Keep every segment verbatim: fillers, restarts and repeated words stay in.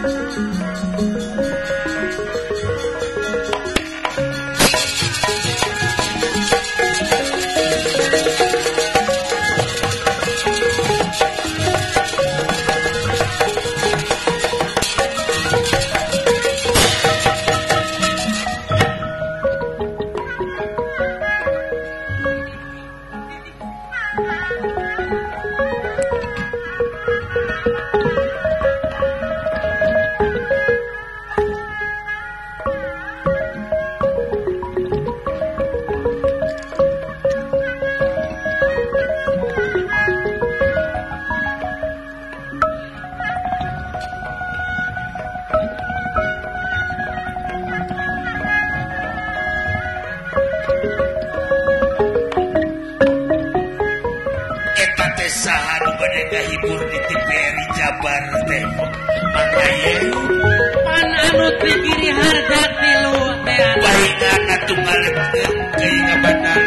Hibur di T V R Jabar teh makanya pan anu dibiri harga tilu teh baikna tunggal keingat benar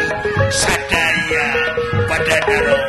sadaya pada daro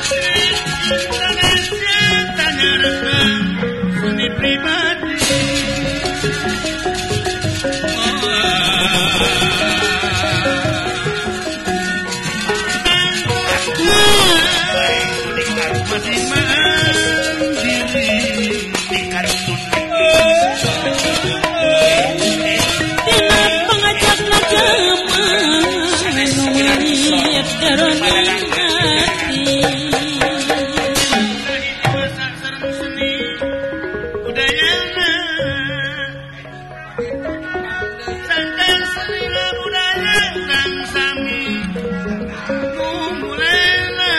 Pribadi jadi mandiri dikantun tina pangajak ngajaman nuliat karoning hati masak sareng seni budayana sangkan seni budaya dan sami kumulena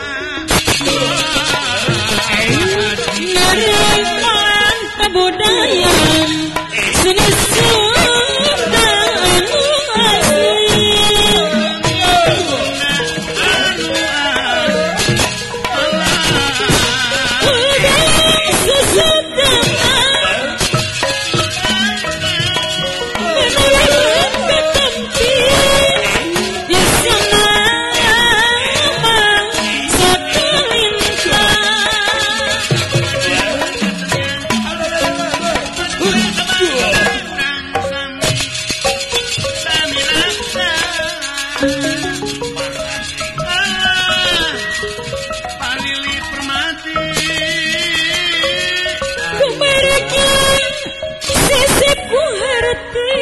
nariman kebudayaan seni Sunda anu asli budaya Sunda menurut ketempi di sana mang satu lintang sami raksa palili permati kumargi sisiku harti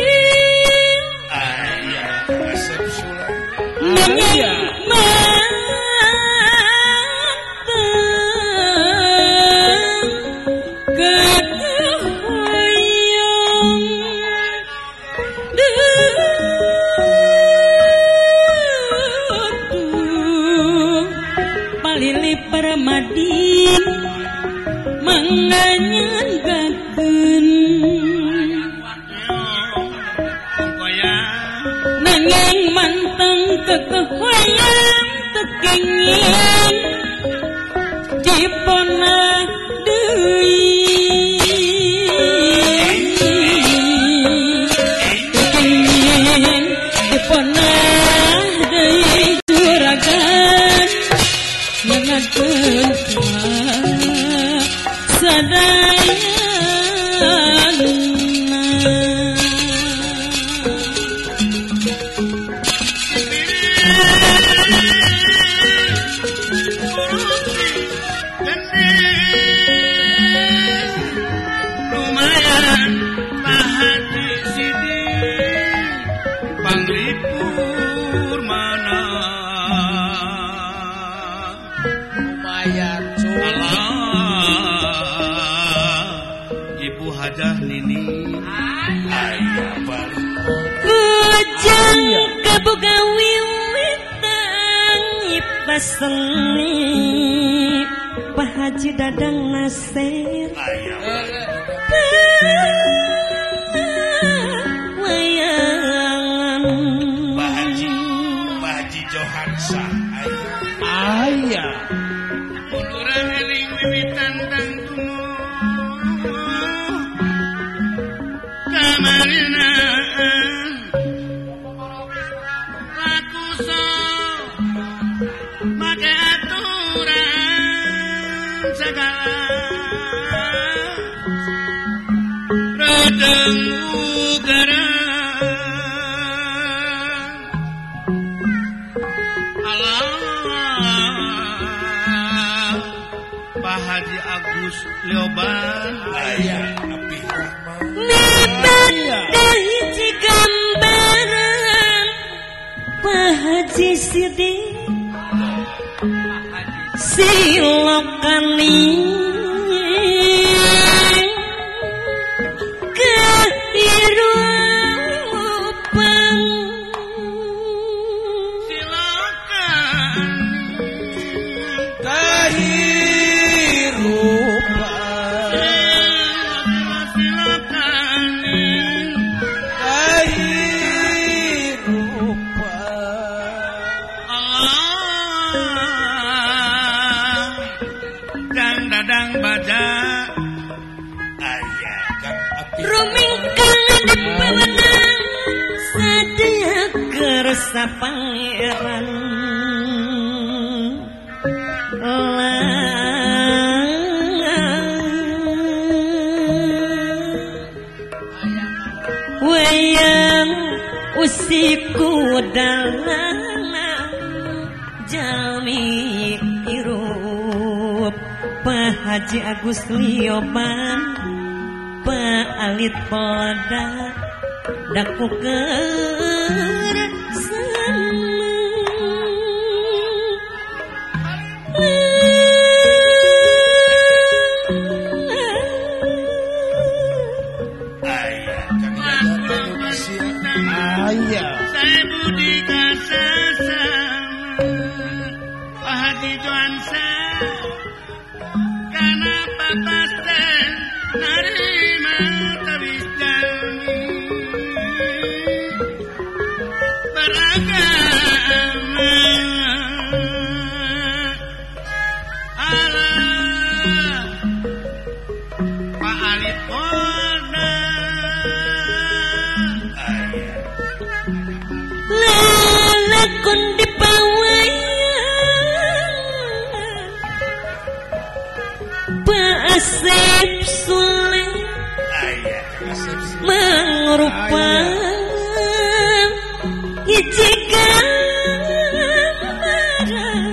ayah asap sulam nanging manteng kehoyong duh palili permadi manganyanggakeun koyang nanging manteng kekehoyang tekenging dipona deui tekenging dipona deui juragan nyangakeun lumayan pahati sidi panglipur mana lumayan cuy alah ibu hajah nini ayah balik Kujang kabuga wiwitang ipaseni Pak Haji Dadang Nasir ayah wayangan Pak Haji Pak Haji Johansa ayah ayah Ulurang eling wiwitan dan kuno kamarinaan laku so make aturan segala redeng ugaran alah Pak Haji Agus Lioban ayah Nabi Rahman Nibat dahiji gambaran Pak Haji Sidi silokani kehirupan silakan kehirupan silakan kehirupan Allah dang dadang baja ayah kang api rumingkang dipewenang sadaya kersa pangeran wayang usiku dalana jami irup Haji Agus Lioban Pak Alit Polda daku keur Ayah. Saya budi kasasa Pak Haji Joansa karena patas dan narima tawis jami beragama Allah Pak Alit Polda lalakon di Pak Asep Sule mengrupa hiji gambaran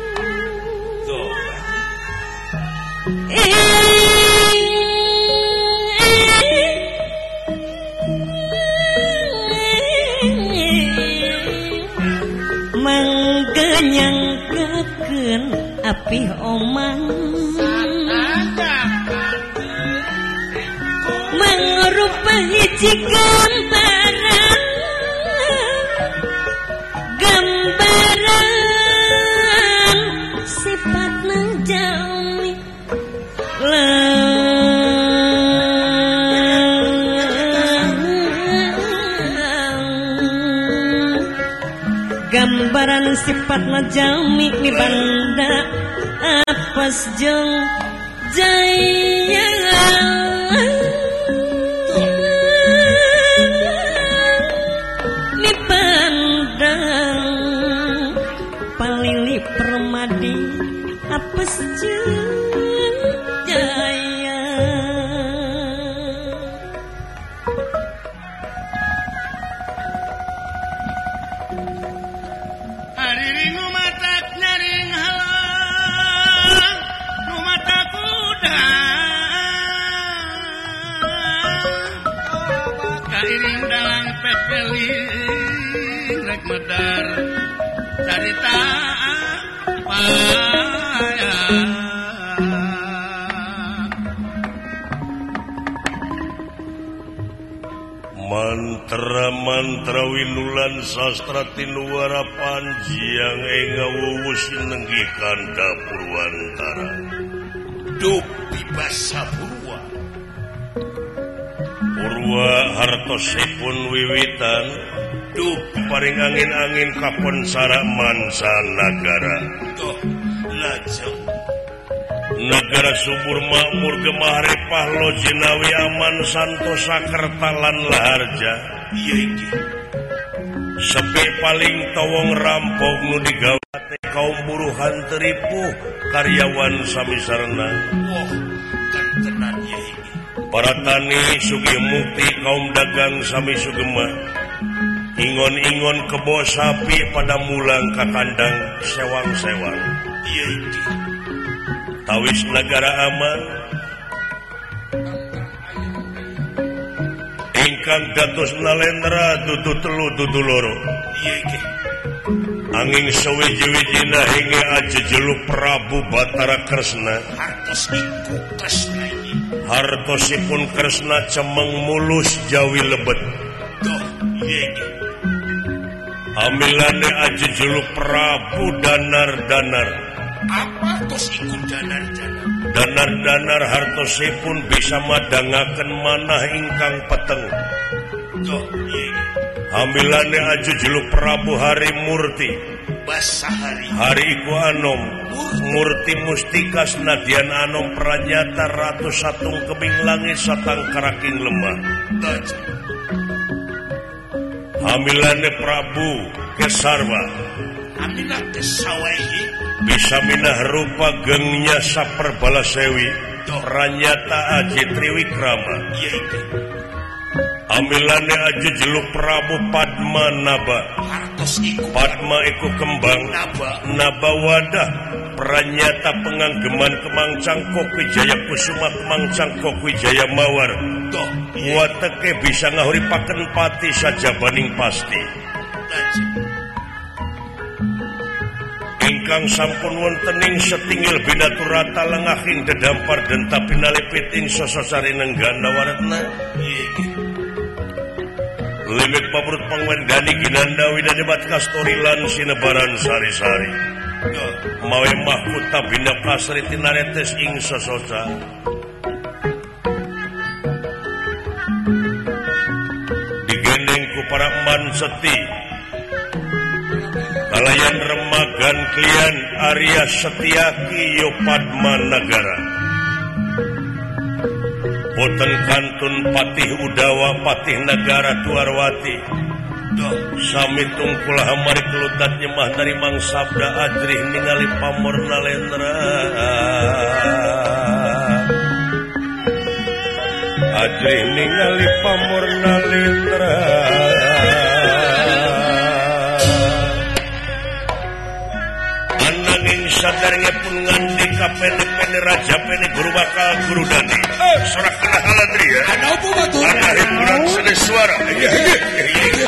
manggenyangkeun api omang mangrupa hiji gambaran gambaran sifatna jalmi gambaran sifatna jalmi mi banda apes jeung jaya mi pandang palili permadi apes jeung jaya hariring umatak nyaring halang umatak kuda kairing dalang pepeling rek medar carita paya mantra-mantra winulan sastra tinuara panjiang enga wuwus nenggikan Purwantara duk bibasa Purwa Purwa hartosipun wiwitan duk paring angin-angin kapon sara mansa nagara toh lajeng negara subur makmur gemarepah lo jinawi aman santosa kertalan laharja iya iki sepi paling tawong rampok nu digawate kaum buruhan teripu karyawan samisarna wah kentenan iya iki para tani sugih mukti kaum dagang sami sugema ingon-ingon kebo sapi pada mulang ka kandang sewang-sewang iya iki tawis negara aman ingkang dados nalendra dudu telu dudu loro iya iki angin sewiji-wijina hingga aja jeluk Prabu Batara Kresna hartos iku Kresna ini hartosipun Kresna cemeng mulus jawi lebet toh iya iki amilane aja jeluk Prabu Danar-danar apa tos ikut danar-danar danar-danar hartosipun bisa madangaken manah ingkang peteng toh iya iki amilane aja jeluk Prabu Hari Murti basahari hari iku anom murti mustika senadyan anom pranyata ratu satung kebing langit satang karaking lemah toh hamilane Prabu Kesarwa aminah kesawaihi bisa minah rupa gengnya saperbala sewi ranyata aji triwikrama iya iki amilane aji jeluk Prabu Padmanaba hartos Padma iku kembang naba wadah pranyata penganggeman Kemang Cangkok Wijaya Kusuma Kemang Cangkok Wijaya Mawar wateke bisa ngahuripaken pati saja baning pasti ingkang sampun wontening setinggil binaturata lengahing dedampar dan tapi nalipiting sososari nenggana waratna limit pabrut pangwendani ginanda widani bat kastorilan sinebaran sari-sari mawe mahkota bina kasri tinaretes ing sososa digendeng ku para man seti kalayan remagan klian Arya Setiaki Yopadma Nagara boten kantun patih Udawa patih Nagara Tuarwati sami tungkul hamari kelutat nyemah dari Mang Sabda Adrih ningali pamorna lendra Adrih ningali pamorna lendra ananging sadarnya pun nganding kapene-pene raja pene guru bakal guru dani sorak kena haladri ya Ada apa batu? ada hiburan seni suara iya iya iya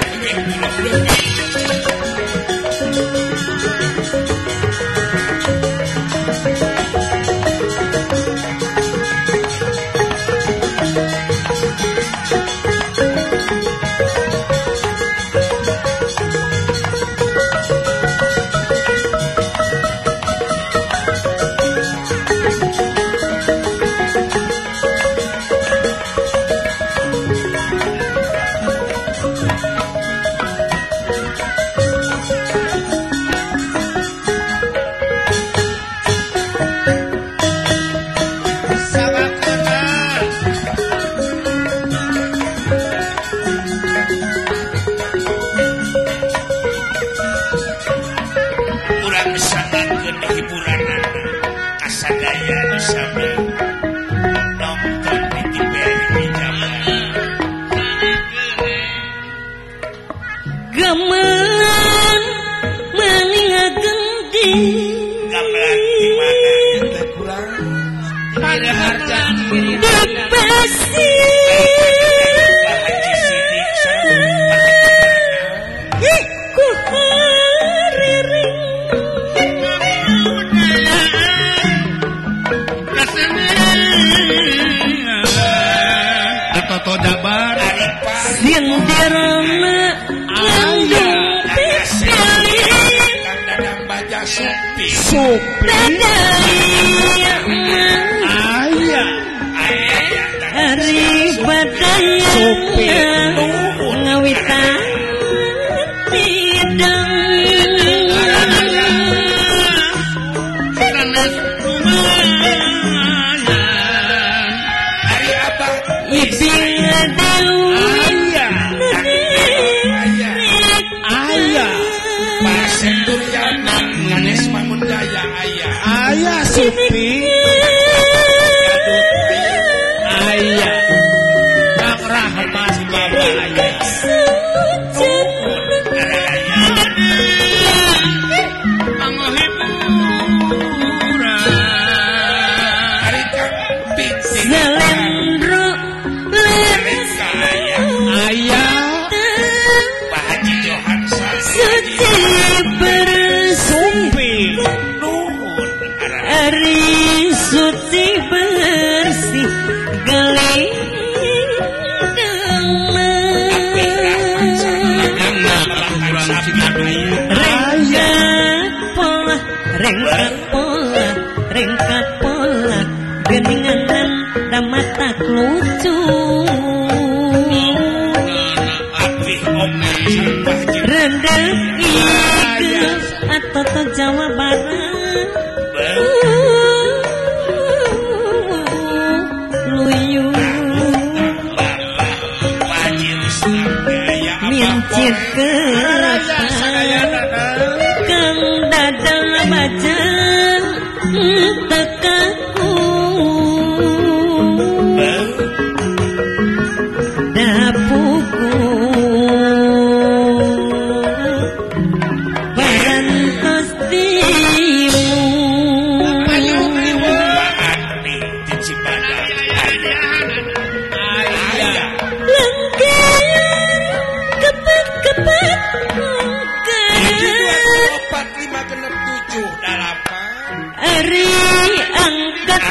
Ari angkat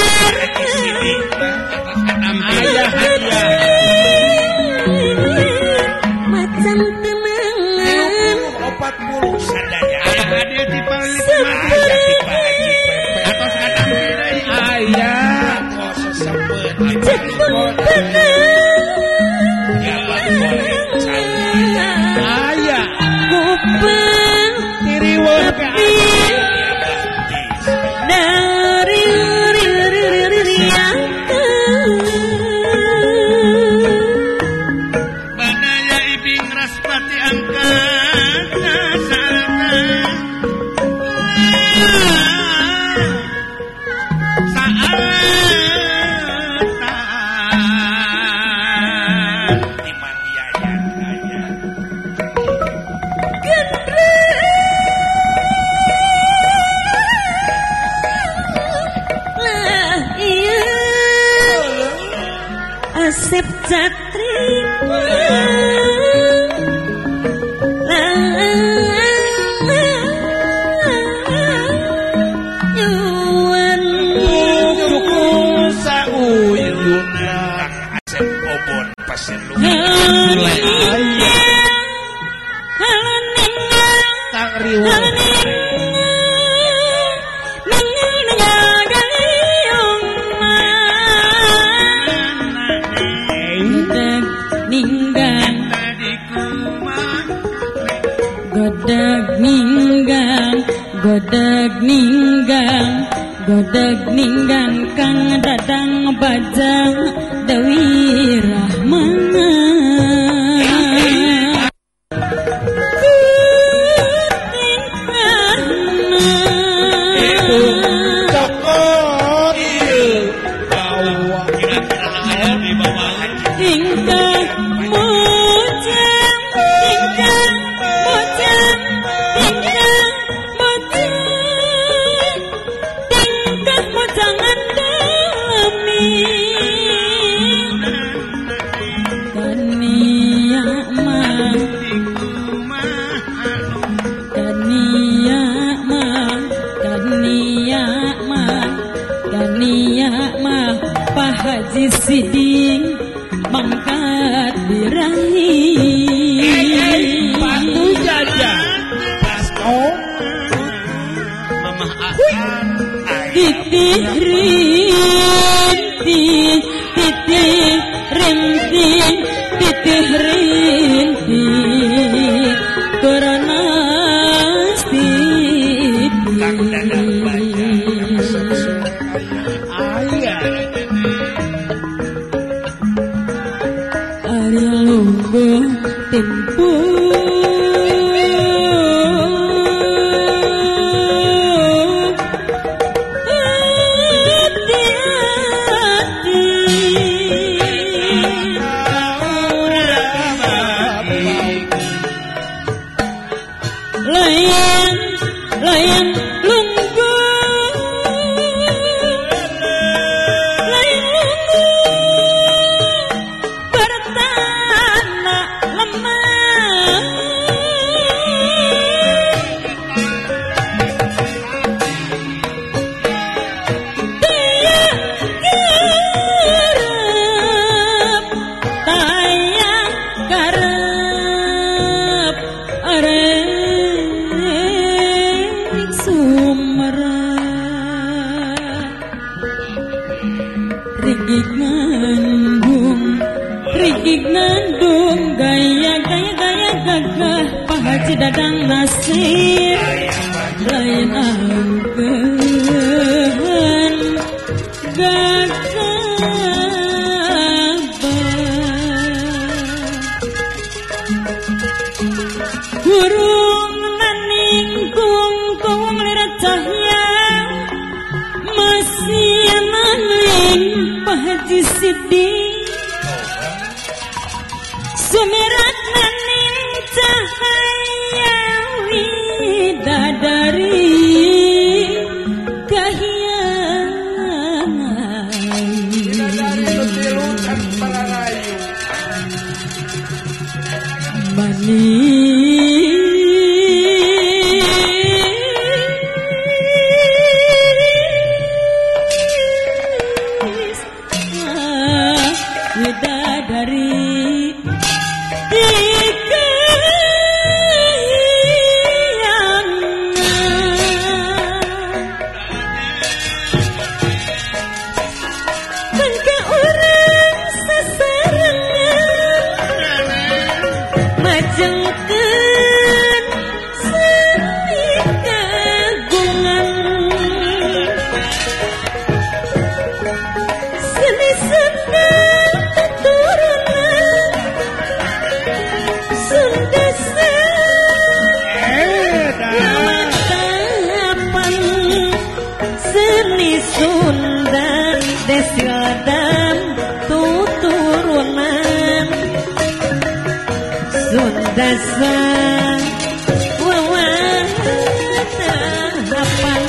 ayah ayah macam temengan opat puluh sadaya ayah hadir di paling ayah di Haji Pepe atas kata ayah kok sesempet cepeng tenang gabah goreng campur ayah kupeng tiriweuh ke gabah tis dari Banaya ibing raspati angkat nasarana saatan di maniayan ayah lah iya Asep Jatri Yuan sauyuna Asep obon pasir lu tak riweuh Godag ninggang, godag ninggang, godag ninggang Kang Dadang Bajang Dewi Rahmana. itu cokot bawa kira-kira ayah di bawah Haji Tingkah mojang, tingkah mojang, tingkah mojang, tingkah mojangan demi Tania mah, Tania mah, Tania mah, Tania mah, Pak Haji Siding mangkat birahi. batu jajah oh mamah akan Titih rinting, titih rinting, titih rinting, karena Kang Dadang Bajang ayah Ari lungguh tempo Layan, layan lungguh, layan lungguh, bertanah lemah. Dia garap, tayang garap, arek sumerah. Rigig nandung, rigig nandung, gaya gaya gaya gagah, Pak Haji Dadang Nasir, lain angkeun gagah burung naning kung kung lirat cahya masih naning Pak Haji Siding sumirat naning cahaya widadari dari tiga yang bangka orang sesarangan majengkeun seni kagungan seni seni keturunan Sunda tahapan seni Sundan Desiadam tuturunan Sunda wawan tahapan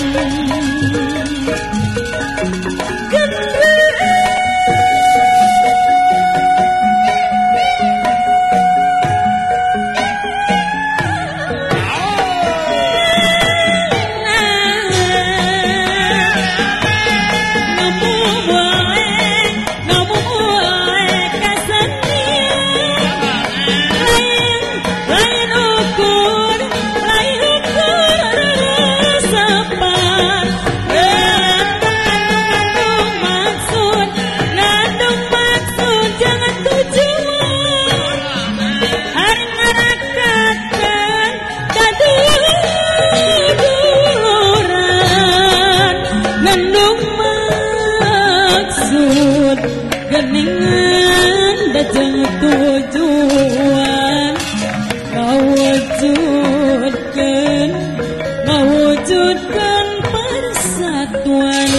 geningan dajeng tujuan mewujudkan mewujudkan persatuan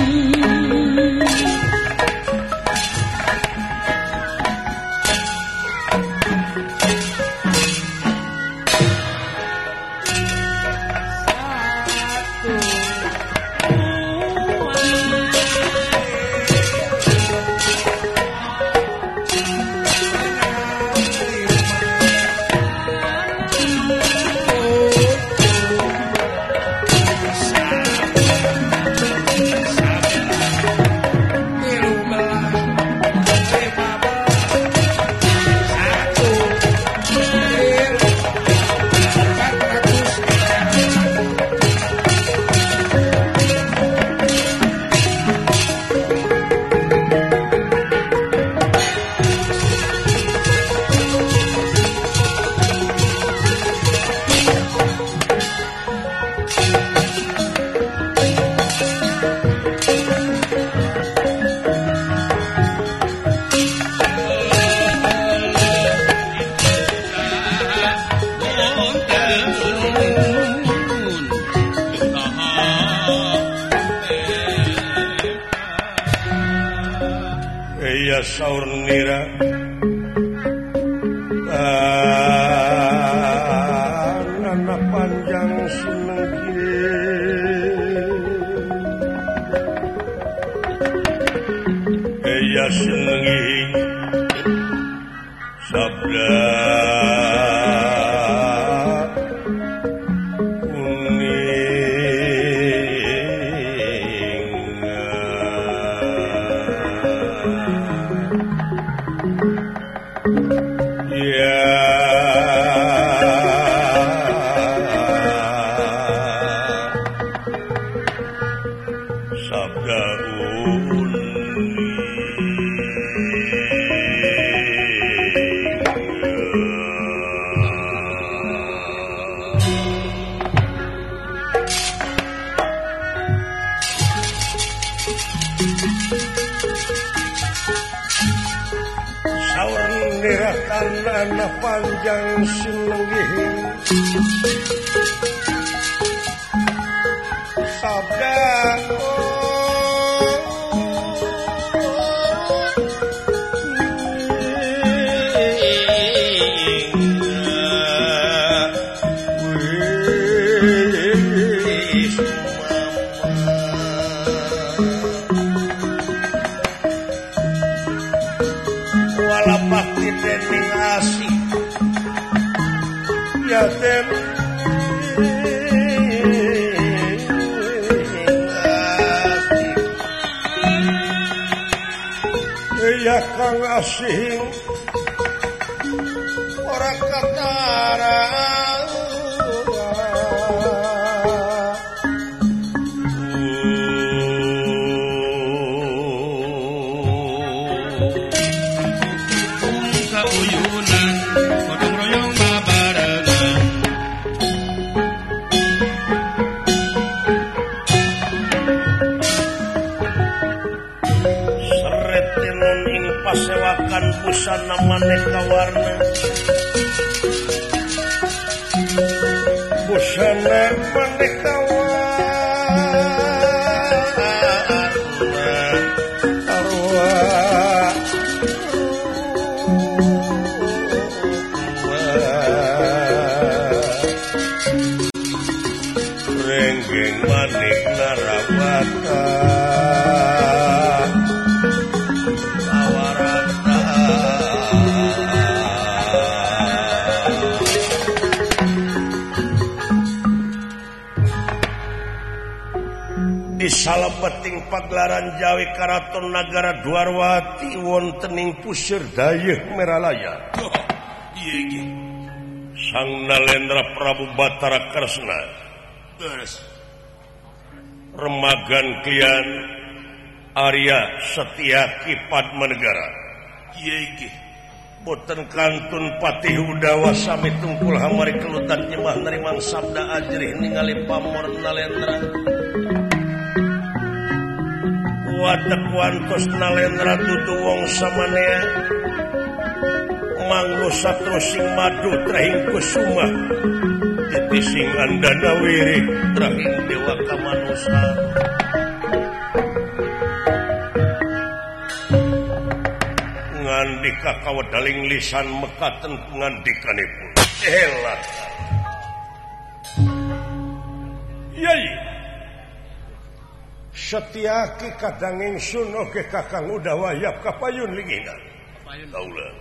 ya saur nira nana panjang seneng ya senengi sabda anak panjang senengih sabda yatim kasih ora katara Kauyunan gotong royong babarengan seretinun ing pasewakan busana maneka warna busana maneka warna arwah renggeng manik narawata awarata di salebeting pagelaran Jawi Karaton Nagara Dwarwati wontening pusir dayeuh Meralaya oh iya iki Sang Nalendra Prabu Batara Kresna terus remagan klian Arya Setyaki Padmanegara iya iki boten kantun patih Udawa sami tungkul hamari kelutan nyemah nerimang sabda ajrih ningali pamor Nalendra wadek wantos Nalendra dudu wong samanea manglo satru sing madu trahing kusuma titi sing andana wirik trahing dewa kamanusa ngandika kawedaling lisan mekaten pangandikanipun elat yai Setyaki kadang ingsun oge kakang Udawa yap kapayun lingina kaulah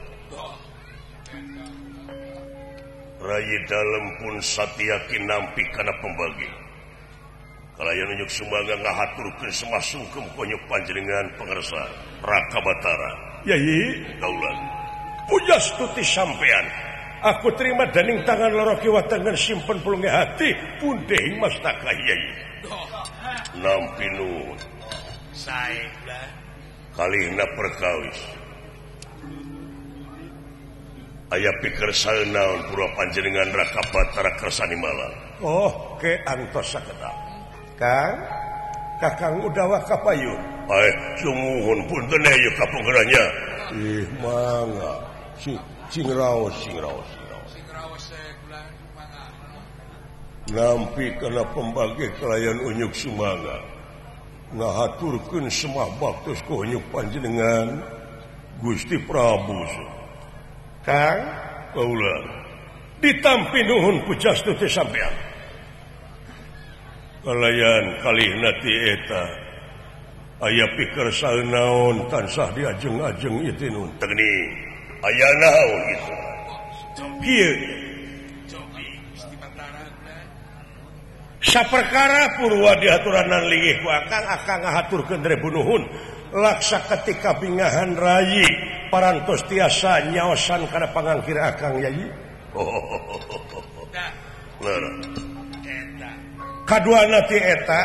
Rayi dalem pun Satyaki nampi kana pembagi kalayan unyuk sumangga ngahaturkeun semasungkem konyuk panjenengan pangersa Raka Batara yai kaulah pujas tuti sampean aku terima daning tangan loro kiwa tangan simpen pulunge hati pundeh mastaka yai nampi nuwun sae lah kalihna perkawis aya pikir saeunaon pura panjenengan Raka Batara kersani malang oh ke antos sakedah Kang Kakang Udawa kapayun ae sumuhun punten ayo kapungeranya ih mangga si sing raos sing raos sing raos kula mangga nampi kana pembagi kelayan unyuk sumangga ngahaturkeun semah baktos ka unyuk panjenengan Gusti Prabu Kang kaula ditampi nuhun pujas teh sampean kalayan kalihna ti eta aya pikir saeunaon tansah diajeng-ajeng ieu nun tegni aya naon kitu kieu saperkara purwa diaturanan linggih ku akang akang ngahaturkeun rebu nuhun laksa ketika bingahan rayi parantos tiasa nyaosan kana pangangkir akang yai lara kaduana ti eta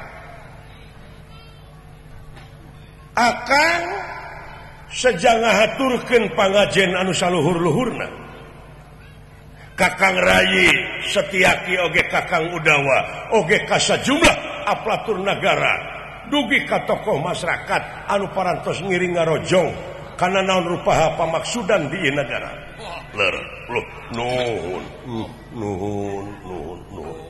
akang sejang ngahaturkeun pangajen anu saluhur-luhurna Kakang Rayi Setyaki oge Kakang Udawa oge ka sajumlah aparatur nagara dugi ka tokoh masyarakat anu parantos ngiring ngarojong kana naon rupaha pamaksudan di ieu nagara. Ler, loh, nuhun, nuhun, nuhun, nuhun.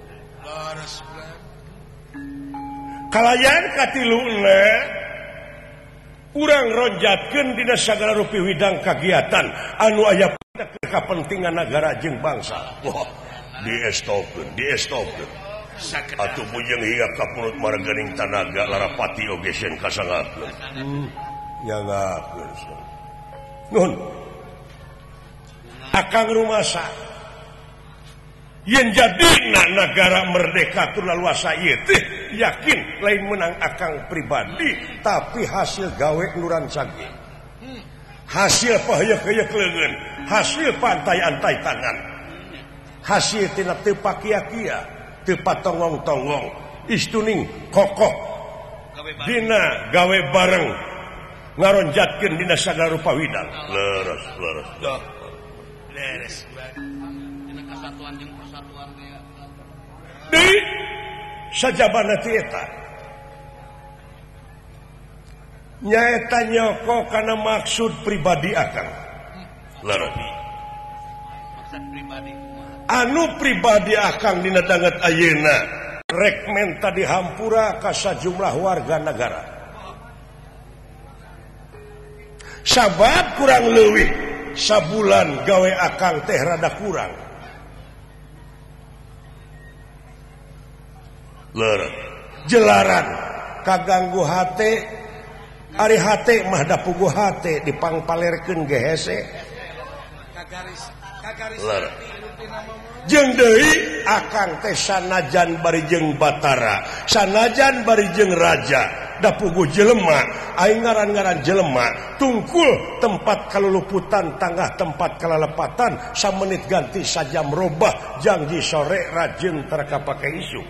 Kalayan katiluna urang ronjatkeun dina sagala rupi widang kagiatan anu aya kepentingan negara jeung bangsa. Wah, diestopkeun, diestopkeun. Atuh bujeng higa ka pulut marganing tanaga larapati oge sen kasangakeun. Hmm, nyangakeun. Nuhun. Akang rumasa. Yen jadina negara merdeka teu laluasa ieu teh yakin lain menang akang pribadi tapi hasil gawe nuran sage. hasil pahaya-kaya kelengan, hasil pantai-antai tangan, hasil tina tepak kia-kia, tepat tongong-tongong, istuning kokoh, dina gawe bareng, ngaronjatkeun dina sagala rupa widang. Leres, leres. Leres. Dina kesatuan jeung persatuan teh. Di sajabana ti eta. Nyaeta nyoko kana maksud pribadi akang. Leres. Maksud pribadi. Anu pribadi akang dina danget ayeuna rek menta dihampura ka sajumlah warga negara. Sabab kurang leuwih sabulan gawe akang teh rada kurang. Leureuh jelaran kaganggu hate ari hate mah da puguh hate dipangpalerkeun ge hese. Kagaris kagaris jeung deui akang teh sanajan bari jeung batara, sanajan bari jeung raja, da puguh jelema, aing ngaran-ngaran jelema, tungkul tempat kaluluputan tangah tempat kalalepatan, samenit ganti sajam robah, janji sore rajin terka pake isu.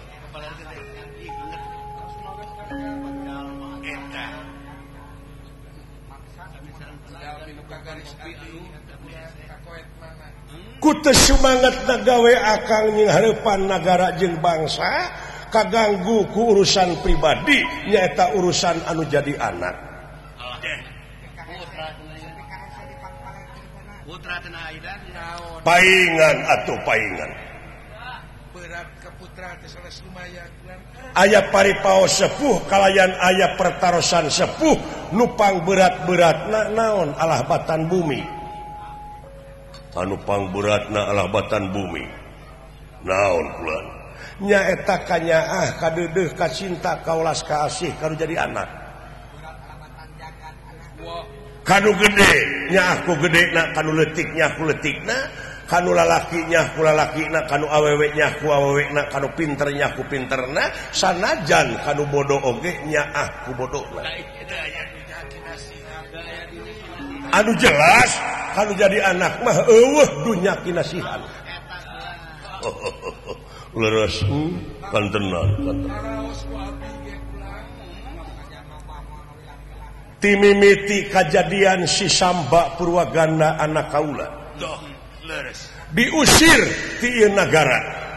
Kutu semangat nagawe akang nying hareupan nagara jeung bangsa kaganggu ku urusan pribadi nyaeta urusan anu jadi anak. Paingan atuh paingan. Berat ke putra teh sanes lumayan. Aya paripaos sepuh kalayan aya pertarosan sepuh nupang berat-beratna naon alah batan bumi. Anu pangberatna alah batan bumi naon pulan nyaeta kanyaah kadeudeuh ka cinta kaulas ka asih kanu jadi anak kanu gede nyaah ku gedena kanu leutik nyaah ku leutikna kanu lalaki nyaah ku lalakina kanu awewe nyaah ku awewena kanu pinter nyaah ku pinterna sanajan kanu bodoh oge nyaah ku bodohna anu jelas kalau jadi anak mah eueuh dunya kinasihan. Leres kan tenan kan. Timimiti kajadian si Samba Purwaganda anak kaula. Diusir ti ieu nagara.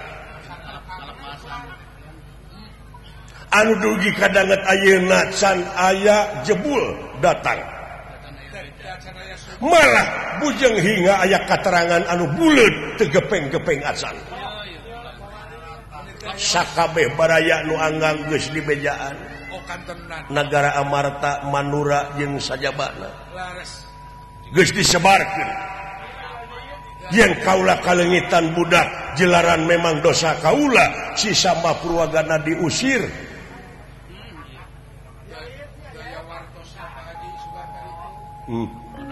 Anu dugi kadanget ayeuna can aya jebul datang. Malah bujeng hingga aya katerangan anu buleut teu gepeng-gepeng acan. Sakabeh baraya nu anggang geus dibejaan. Nagara Amarta, Manura jeung sajabana. Geus disebarkeun. Yen kaula kalengitan budak jelaran memang dosa kaula si Samba Purwagana diusir. Hmm.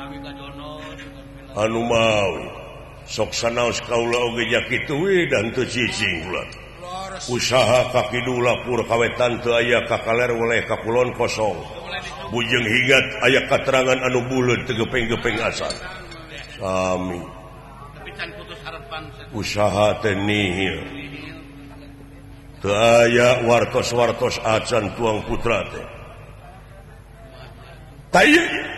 Anu mau sok sanaos kaula oge nya kitu we dan teu cicing ulah usaha kaki dulapur kawetan teu aya kakaler weleh kakulon kosong bujeng hingat aya katerangan anu buleut teu gepeng-gepeng asan sami tapi can putus harapan usaha teh nihil teu aya wartos-wartos acan tuang putra teh tah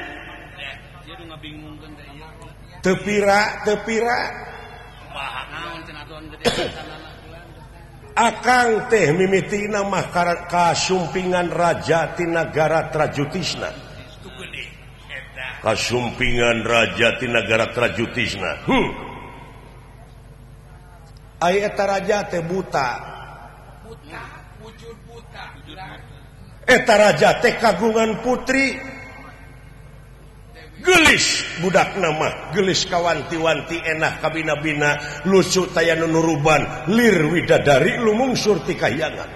tepira tepira akang teh mimitina mah kasumpingan raja ti nagara Trajutisna kasumpingan raja ti nagara Trajutisna hmm. Ai eta raja teh buta wujud buta eta raja teh kagungan putri gelis budak nama gelis kawanti-wanti enah kabina-bina lucu tayanu nuruban lir widadari lumungsur ti kahyangan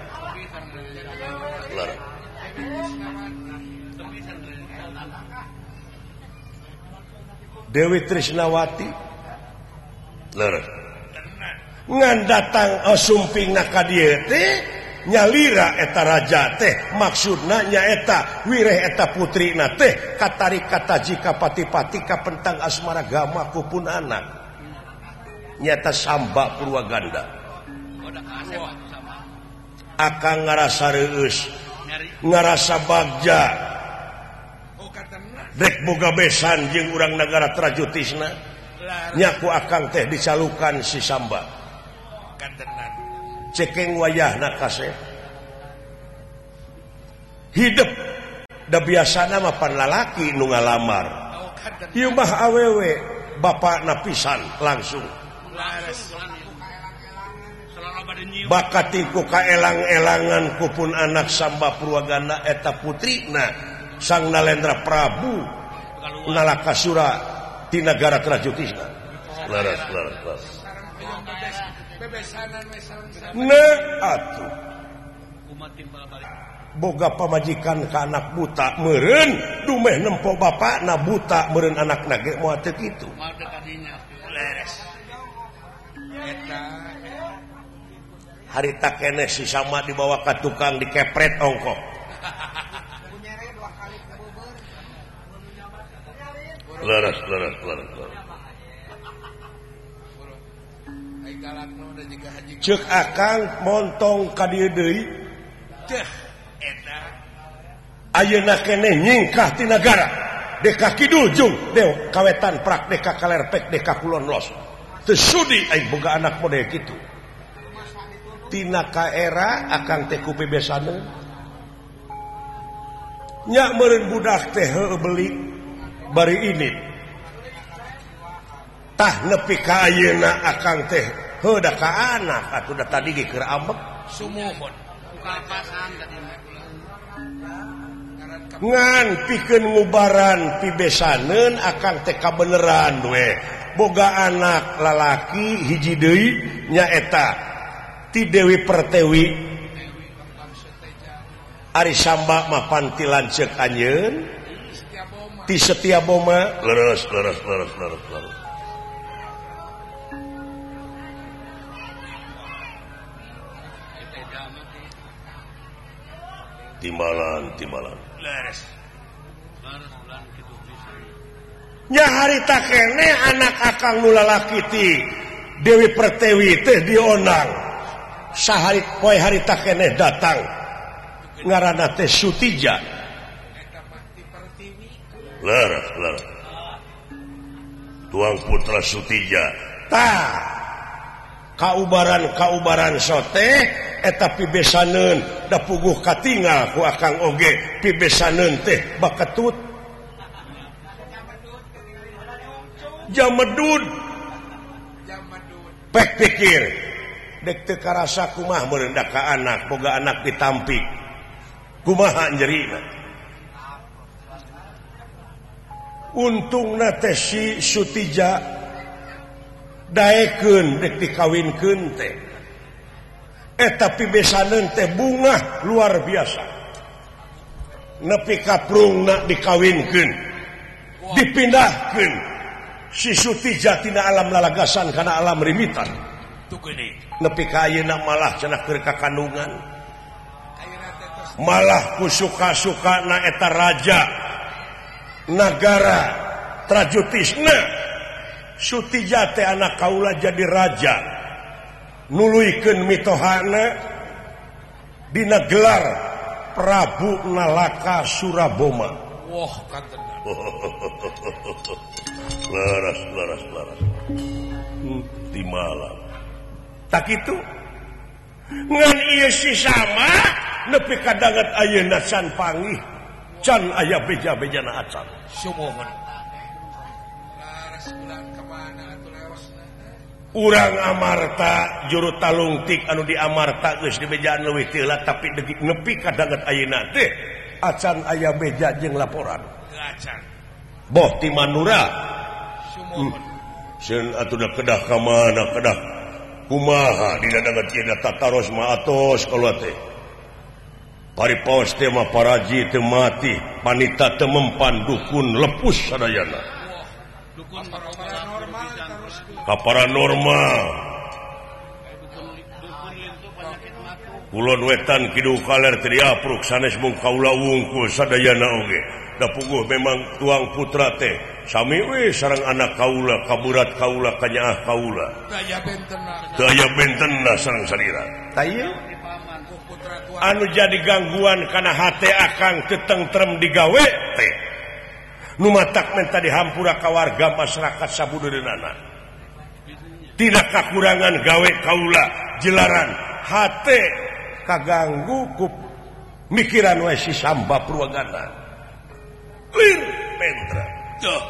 Dewi Trisnawati ler ngan datang sumpingna ka dieu teh nyalira eta raja teh maksudna nyaeta wireh eta putrina teh katari kata jika pati-pati kapentang asmara gama kupun anak nyata Samba Purwaganda akang ngarasa reus ngarasa bagja dek boga besan jeung urang negara Trajutisna nyaku akang teh dicalukan si Samba cekeng wayahna kasih hidup da biasana mah pan lalaki nu ngalamar ieu mah awewe bapakna pisan langsung bakatiku kaelang-elangan kupun anak Samba Purwaganda eta putrina Sang Nalendra Prabu Nalakasura di negara Trajutisna laras laras laras nah atuh boga pamajikan ke anak buta meureun dumeh nempo bapakna buta meureun anakna ge moal teu kitu harita keneh si Sama dibawa ka tukang dikepret ongkok laras laras laras cek akang montong ka dieu deui teh eta ayeuna keneh nyingkah ti nagara deka kidul jung deu kawetan prak deka kalerpek deka kulon los teu sudi aing boga anak model kitu tina ka era akang teh ku bebesaneun nya meureun budak teh heueuh beuli bari ini tah nepi ka ayeuna akang teh heuh da ka anak atuh da tadi ge keur ambek sumuhun kapasan tadi ngan pikeun ngubaran pibesaneun akang teh kabeneran we boga anak lalaki hiji deui nyaeta ti Dewi Pertiwi ari Samba mah panti lanceuk anjeun ti Setiaboma leres leres leres leres leres timbalan timbalan leres nya harita kene anak akang nu lalaki ti Dewi Pertiwi teh dionang sahari poe harita kene datang ngaranna teh Sutija leres leres tuang putra Sutija tah kaubaran-kaubaran sote eta pibesaneun da puguh katinggal ku akang oge pibesaneun teh baketut jamedud pek pikir dek teu karasa kumaha meureun da ka anak boga anak ditampi kumaha nyeurina untungna teh si Sutija daekeun dek dikawinkeun teh eta pibesaneun teh bungah luar biasa nepi ka prungna dikawinkeun dipindahkeun si Sutija tina alam lalagasan kana alam rimitan nepi ka ayeuna malah cenah keur kakandungan malah ku suka-sukana eta raja nagara Trajutisna Sutija teh anak kaula jadi raja nuluykeun mitohana dina gelar Prabu Nalaka Suraboma wah katena laras laras laras di malam tak itu ngan ieu si Sama nepi ka danget ayeuna can panggih can aya beja-bejana acan sumuhun urang Amarta juru talungtik anu di Amarta geus di bejaan leuwih teulah tapi degik nepi ka danget ayeuna teh acan aya beja jeung laporan acan boh ti Manura sumuhun seun atuh da kedah ka mana kedah kumaha dina danget ieu tataros mah atos kaluar teh paripaos teh mah paraji teu mati panita teu mempan dukun lepus sadayana dukun paranormal ka paranormal Kulon wetan kidul kaler teu diapruk sanes mung kaula wungkul sadayana oge. Da puguh memang tuang putra teh sami we sareng anak kaula kaburat kaula kanyaah kaula. Daya bentenna. Daya bentenna sareng salira. Tah ieu anu jadi gangguan kana hate akang teu tentrem digawe teh. Nu matak menta dihampura ka warga masyarakat sabudeurana. Tidak kakurangan gawe kaula jelaran hate kaganggu ku mikiran we si Samba Purwagana. Lir mentra. Duh.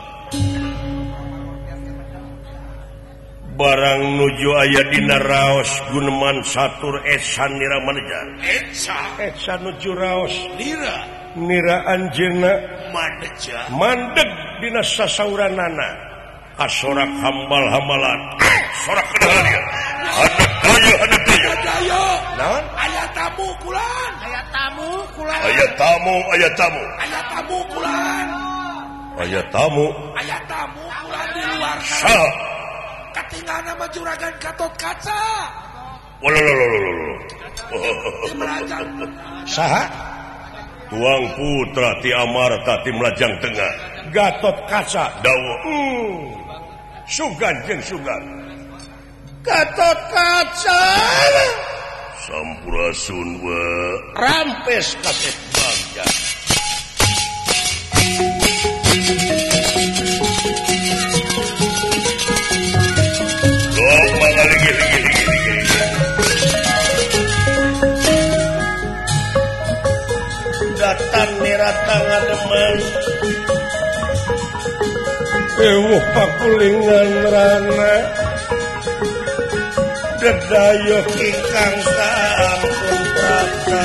Barang nuju aya dina raos guneman satur esan nira maneja. Etsa. Etsa nuju raos Nira. nira anjeunna Maneja. mandeg dina sasauranana. Kasorak hambal-hambalan. Sorak kedengaran dia. Anak daya, anak daya. Daya. Naon? Aya tamu kulan. Aya tamu kulan. Aya tamu, aya tamu. Aya tamu kulan. Aya tamu. Aya tamu kulan di luar sana. Sa. Katinggalna mah juragan Gatot Kaca. Wolololololol. Di Melajang. Saha? Tuang putra ti Amarta ti Melajang Tengah. Gatot Kaca dawa. Hmm. Sugan jeung sugan. Gatot Kaca. Sampurasun we. Rampes kasih bagja. Dok mangga ligi ligi ligi ligi. Datang niratang ademan. Ewuh pakulingan rana. Dedayok ingkang sampun prata.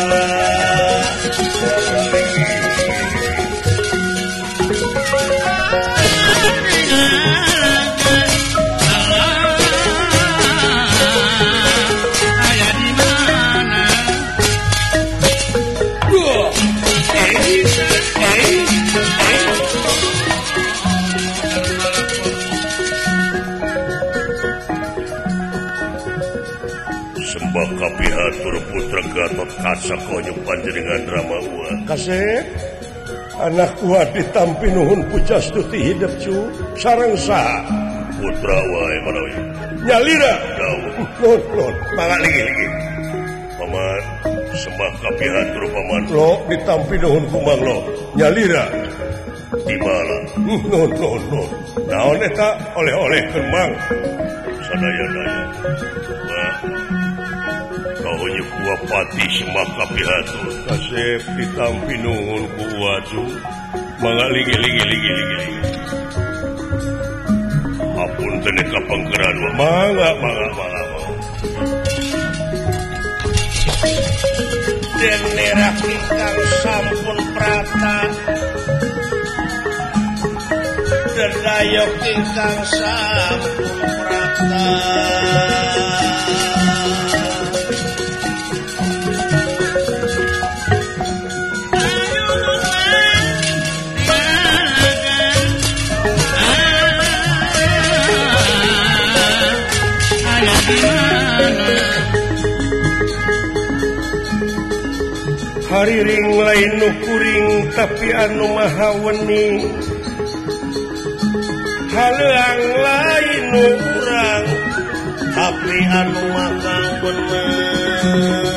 Sembah kapihatur putra Gatot Kaca konyong panjenengan Rama Ua. Kasih anak Ua ditampi nuhun pujastuti hidup cu sareng saha putra wae manawi nyalira dawuh nuhun nuhun mangga lagi lagi paman sembah kapihatur paman lo ditampi nuhun kumang lo nyalira timala nuhun nuhun nuhun naon eta oleh-oleh keun sadaya-daya kaunya kuwa pati sembah kapihatur kasep ditampi nuhun kuwa cu mangga ligi ligi ligi ligi apun tene kapangkeran mangga mangga mangga denera ingkang sampun prata dedayok ingkang sampun prata hariring lain nu kuring tapi anu maha weni haleang lain nu urang tapi anu maha bener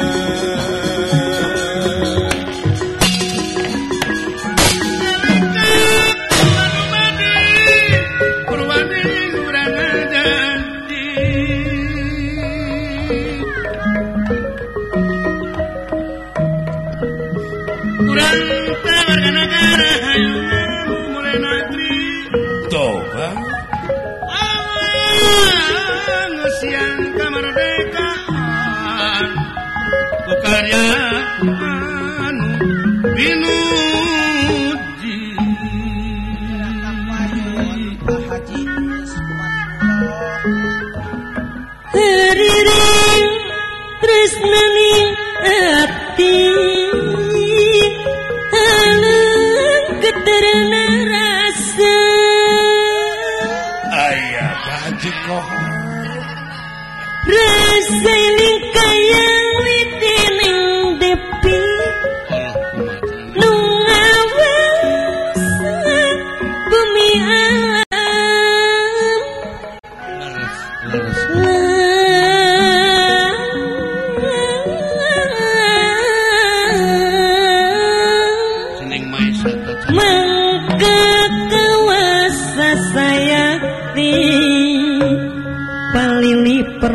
Rasa ini kaya witini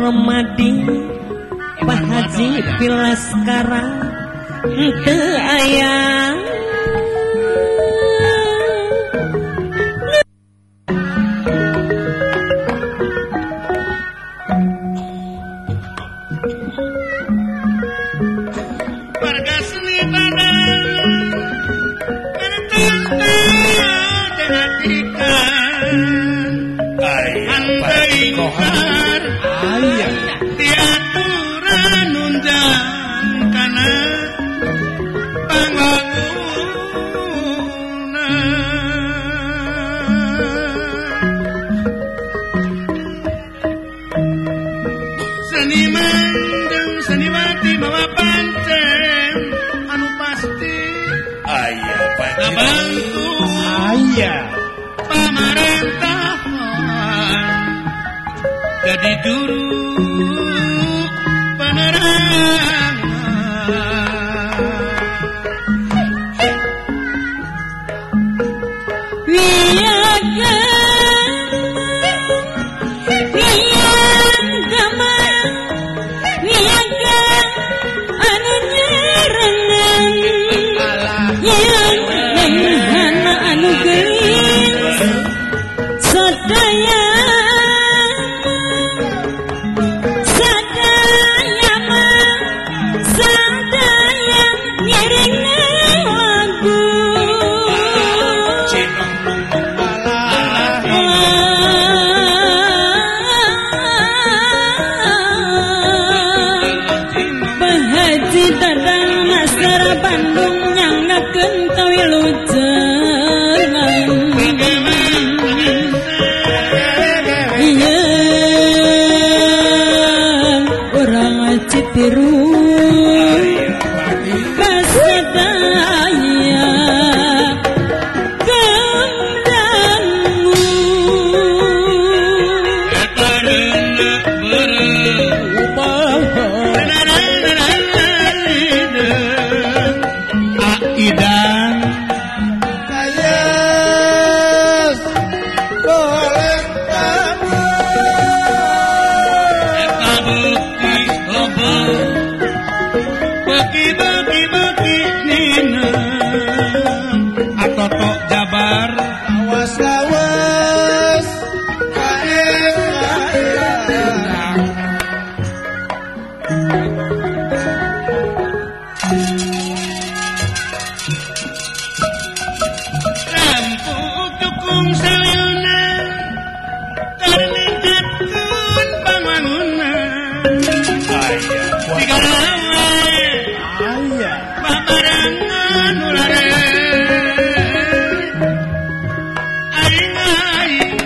Permadi Pak Haji Pilaskara teu aya warga seni badan bertanda dengan ikan andai ingkar diaturan undang kana seniman dan seniwati bawa pancen anu pasti aya ngabantu aya pamerintahan jadi juru penerangan wiyaga wiyaga wiyaga anu nyerengan yang menghana anu geulis sadaya sadaya mah sadaya ngiring lagu Haji Dadang Masara Bandung nyangakeun kawilujengan ieu urang Citiru kasadaya gemdangu Idan Kayas boleh kamu eta bukti loba bagi-bagi bagi nina atoto jabar awas awas kain kain lampu dukung saliyuna karningkeun pambangunan digarawe aya babarengan ulare aing-aing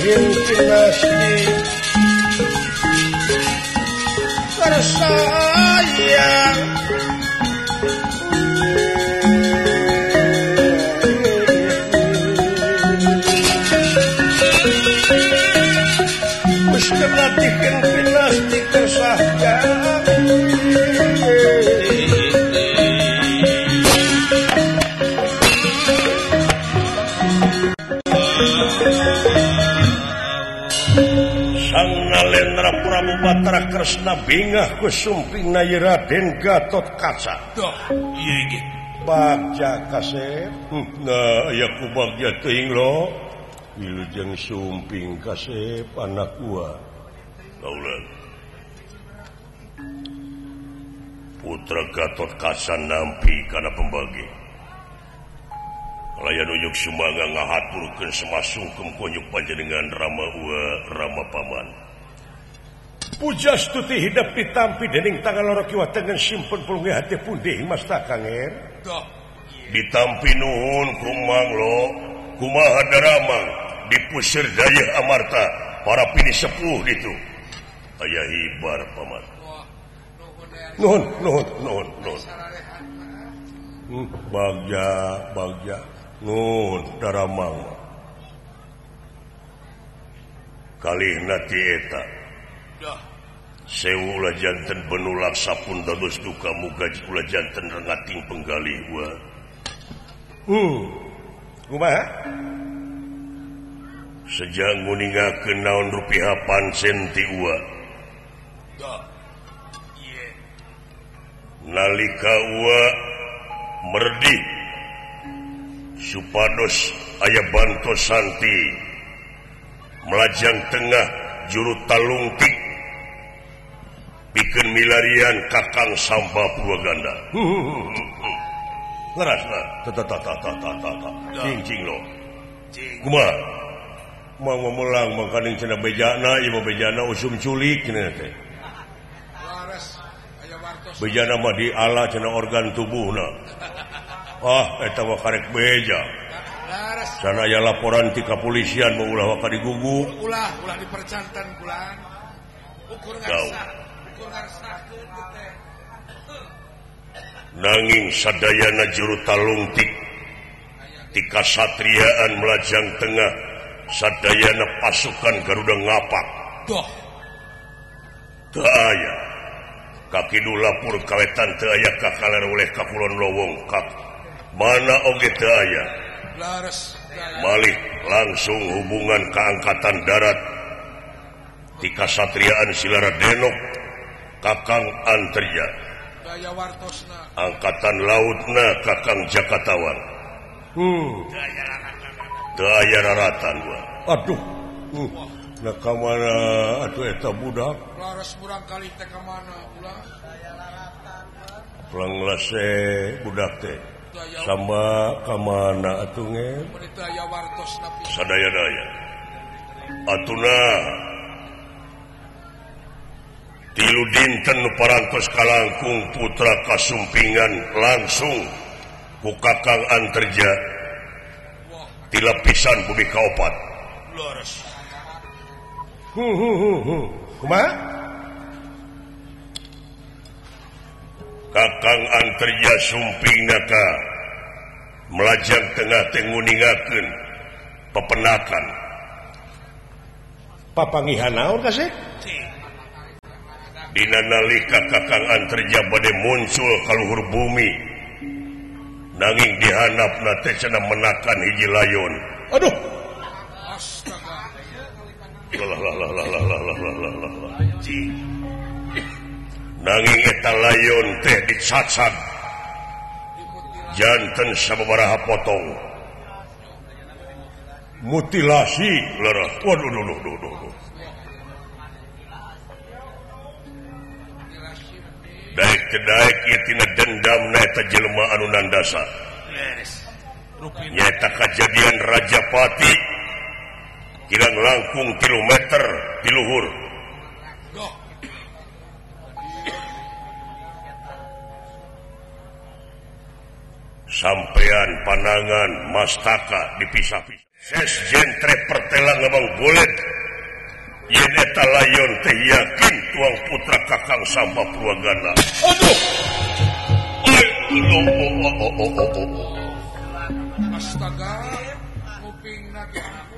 tihin pinasti tersayang wis kelatihan pinasti tersayang Nalendra Prabu Batara Kresna bingah kusumping nayi Raden Gatot Kaca. Duh, iya iki. Bagja kasep. Nah, aya ku bagja teuing lo. Wilujeng sumping kasep anak gua. Kaulan. Putra Gatot Kaca nampi kana pembagi. Layan uyuk sumangga ngahaturkeun semasungkem konyuk panjenengan Rama Ua Rama Paman. Puja stuti hidup ditampi dening tangan loro kiwa tengen simpen pulungi hati pundih mas takanger. Ditampi nuhun kumang lo kumaha daramang dipusir daya amarta para pini sepuh itu. Ayah hibar paman. Nuhun nuhun nuhun nuhun. Hmm, bagja bagja nuhun daramang. Kalihna ti eta. Sewu ulah janten benulak sapun dados duka muga ulah janten rengating penggalih gua. Hmm. Kumaha? Sejak nguningakeun naon rupiah pancen ti ua. Nalika ua merdi supados aya bantosanti melajang tengah juru talungtik bikin milarian kakang Samba Purwaganda. Ngerasna, tata-tata-tata-tata, cing-cing lo. Kumaha? Mau memelang makaning cenah bejana, ieu bejana usum culik cenah teh. Bejana mah diala cenah organ tubuhna. Ah, eta mah karek beja. Sana aya laporan ti kapolisian mau ulah ka diguguk. Ulah, ulah dipercantan kulaan. Ukur ngarsa. Nanging sadayana juru talungtik ti kasatriaan melajang tengah sadayana pasukan Garuda Ngapak. Doh. Teu aya kakidu lapur kawetan teu aya kakaler oleh kakulon lowong kak mana oge teu aya. Laras malih langsung hubungan keangkatan darat ti kasatriaan Silara Denok Kakang Anterja. Daya wartosna. Angkatan lautna Kakang Jakatawan. Hmm. Daya raratan gua. Aduh. Hmm. Nah kamana atuh eta budak? Laras murang kali teh ka mana ulah? Daya raratan. Planglase budak teh. Samba ka mana atuh nge? Daya wartosna pisan. Sadaya-daya. Atuna tilu dinten parantos kalangkung putra kasumpingan langsung ku Kakang Anterja tilapisan bumi kaopat. Laras. Hu hu hu hu. Kumaha? Kakang Anterja sumpingna ka melajang tengah teh nguningakeun pepenakan. Papangihan naon kasih? Dina nalika Kakang Anterja bade muncul ka luhur bumi nanging dihanapna teh cenah menakan hiji layon. Aduh. Astaga. Lah lah lah lah lah lah lah lah lah lah. Nanging eta layon teh dicacad. Janten sababaraha potong. Mutilasi lerah. Waduh duh duh duh duh. Daik kedaik ieu tina dendamna eta jelema anu nandasa. Nyaeta kajadian Rajapati kirang langkung tilu meter di luhur. Sampean panangan mastaka dipisah-pisah. Sesjen Treperti telah ngomong boleh yen eta layon teh yakin tuang putra kakang sampah purwagana. Aduh. Aduh. Oh, oh, oh, oh, oh, oh. Astaga, kuping nage aku.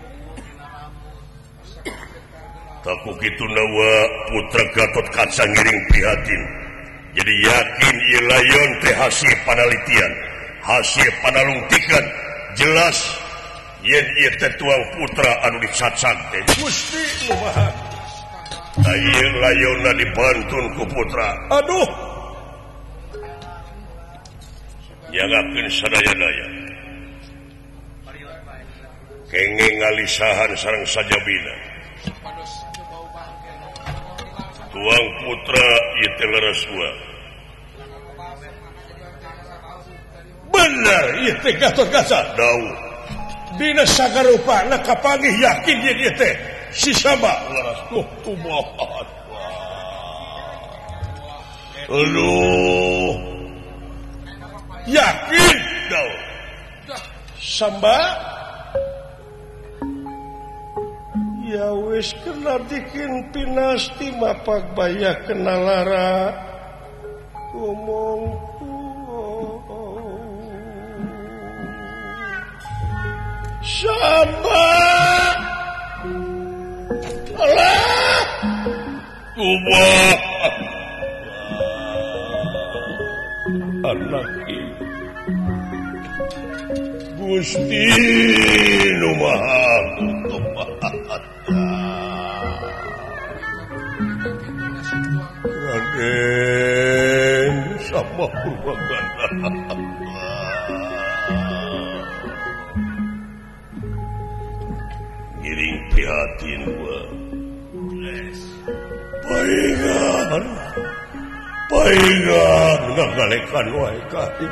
Taku kitu nawa putra Gatot Kaca ngiring prihatin. Jadi yakin ieu layon teh hasil panalitian, hasil panalungtikan jelas yen ieu teh tuang putra anu dicacak teh. Gusti numaha. Da ieu layonna dibantun ku putra. Aduh. Nyagakeun sadaya-daya. Kenging ngalisahan sareng sajabina. Tuang putra ieu teh leres gua. Bener ieu teh Gatot Kaca. Daun. Dina sagarupana kapanggih yakin yen ieu teh si Samba. Tuh tumohon. Aduh. Yakin daun. Samba ya wis kena bikin pinasti mapak baya kena lara ngomong Samba alah kubah anak ini Gusti numaha Raden sama Purwagana ngiring prihatin gua paingan paingan ngagalekan wae kain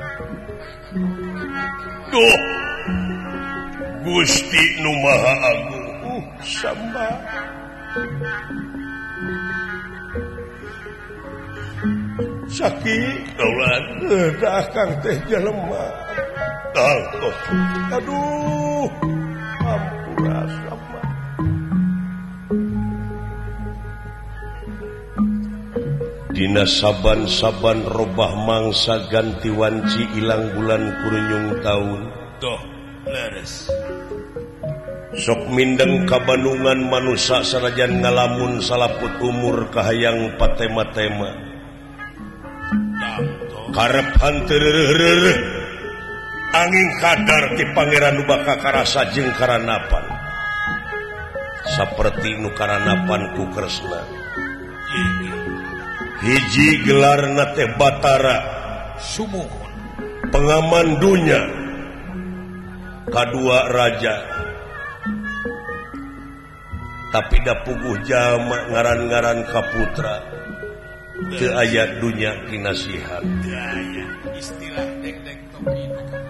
duh Gusti nu Maha Agung uh, Samba sakit daulat dah kang teh jelema tangkos aduh ampura Samba dina saban-saban robah mangsa ganti wanci ilang bulan kurunyung taun toh leres sok mindeng kabanungan manusia sanajan ngalamun salaput umur kahayang patema-tema karep hantereureureureureuh angin kadar ti pangeran nu baka karasa jeung karanapan saperti nu karanapan ku Kresna hiji gelarna teh Batara Sumuhun pengaman dunya kadua raja tapi da puguh jama ngaran-ngaran kaputra teu aya dunya kinasihan Gaya istilah dek-dek topi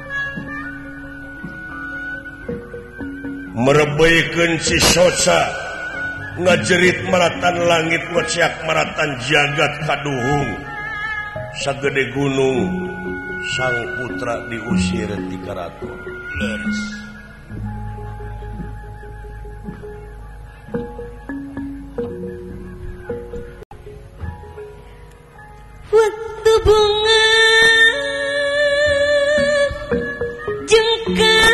merebeukeun si Soca ngajerit maratan langit ngociak maratan jagat kaduhung sagede gunung sang putra diusir ti karaton leres waktu bunga jengkal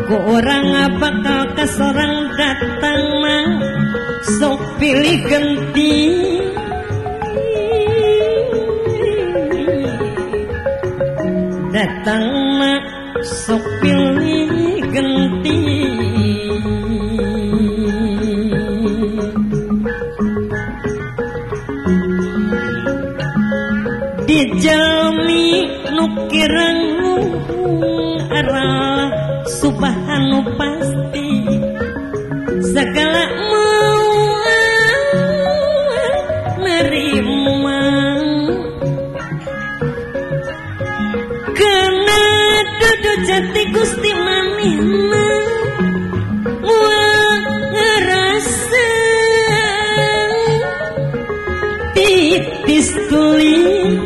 ku orang bakal keserang datang mah sok pilih ganti datang mah sok pilih ganti dijalmi nukirang arah subhanu pasti segala mau nerima kena dudu jati Gusti manehna mual ngerasa titis tulis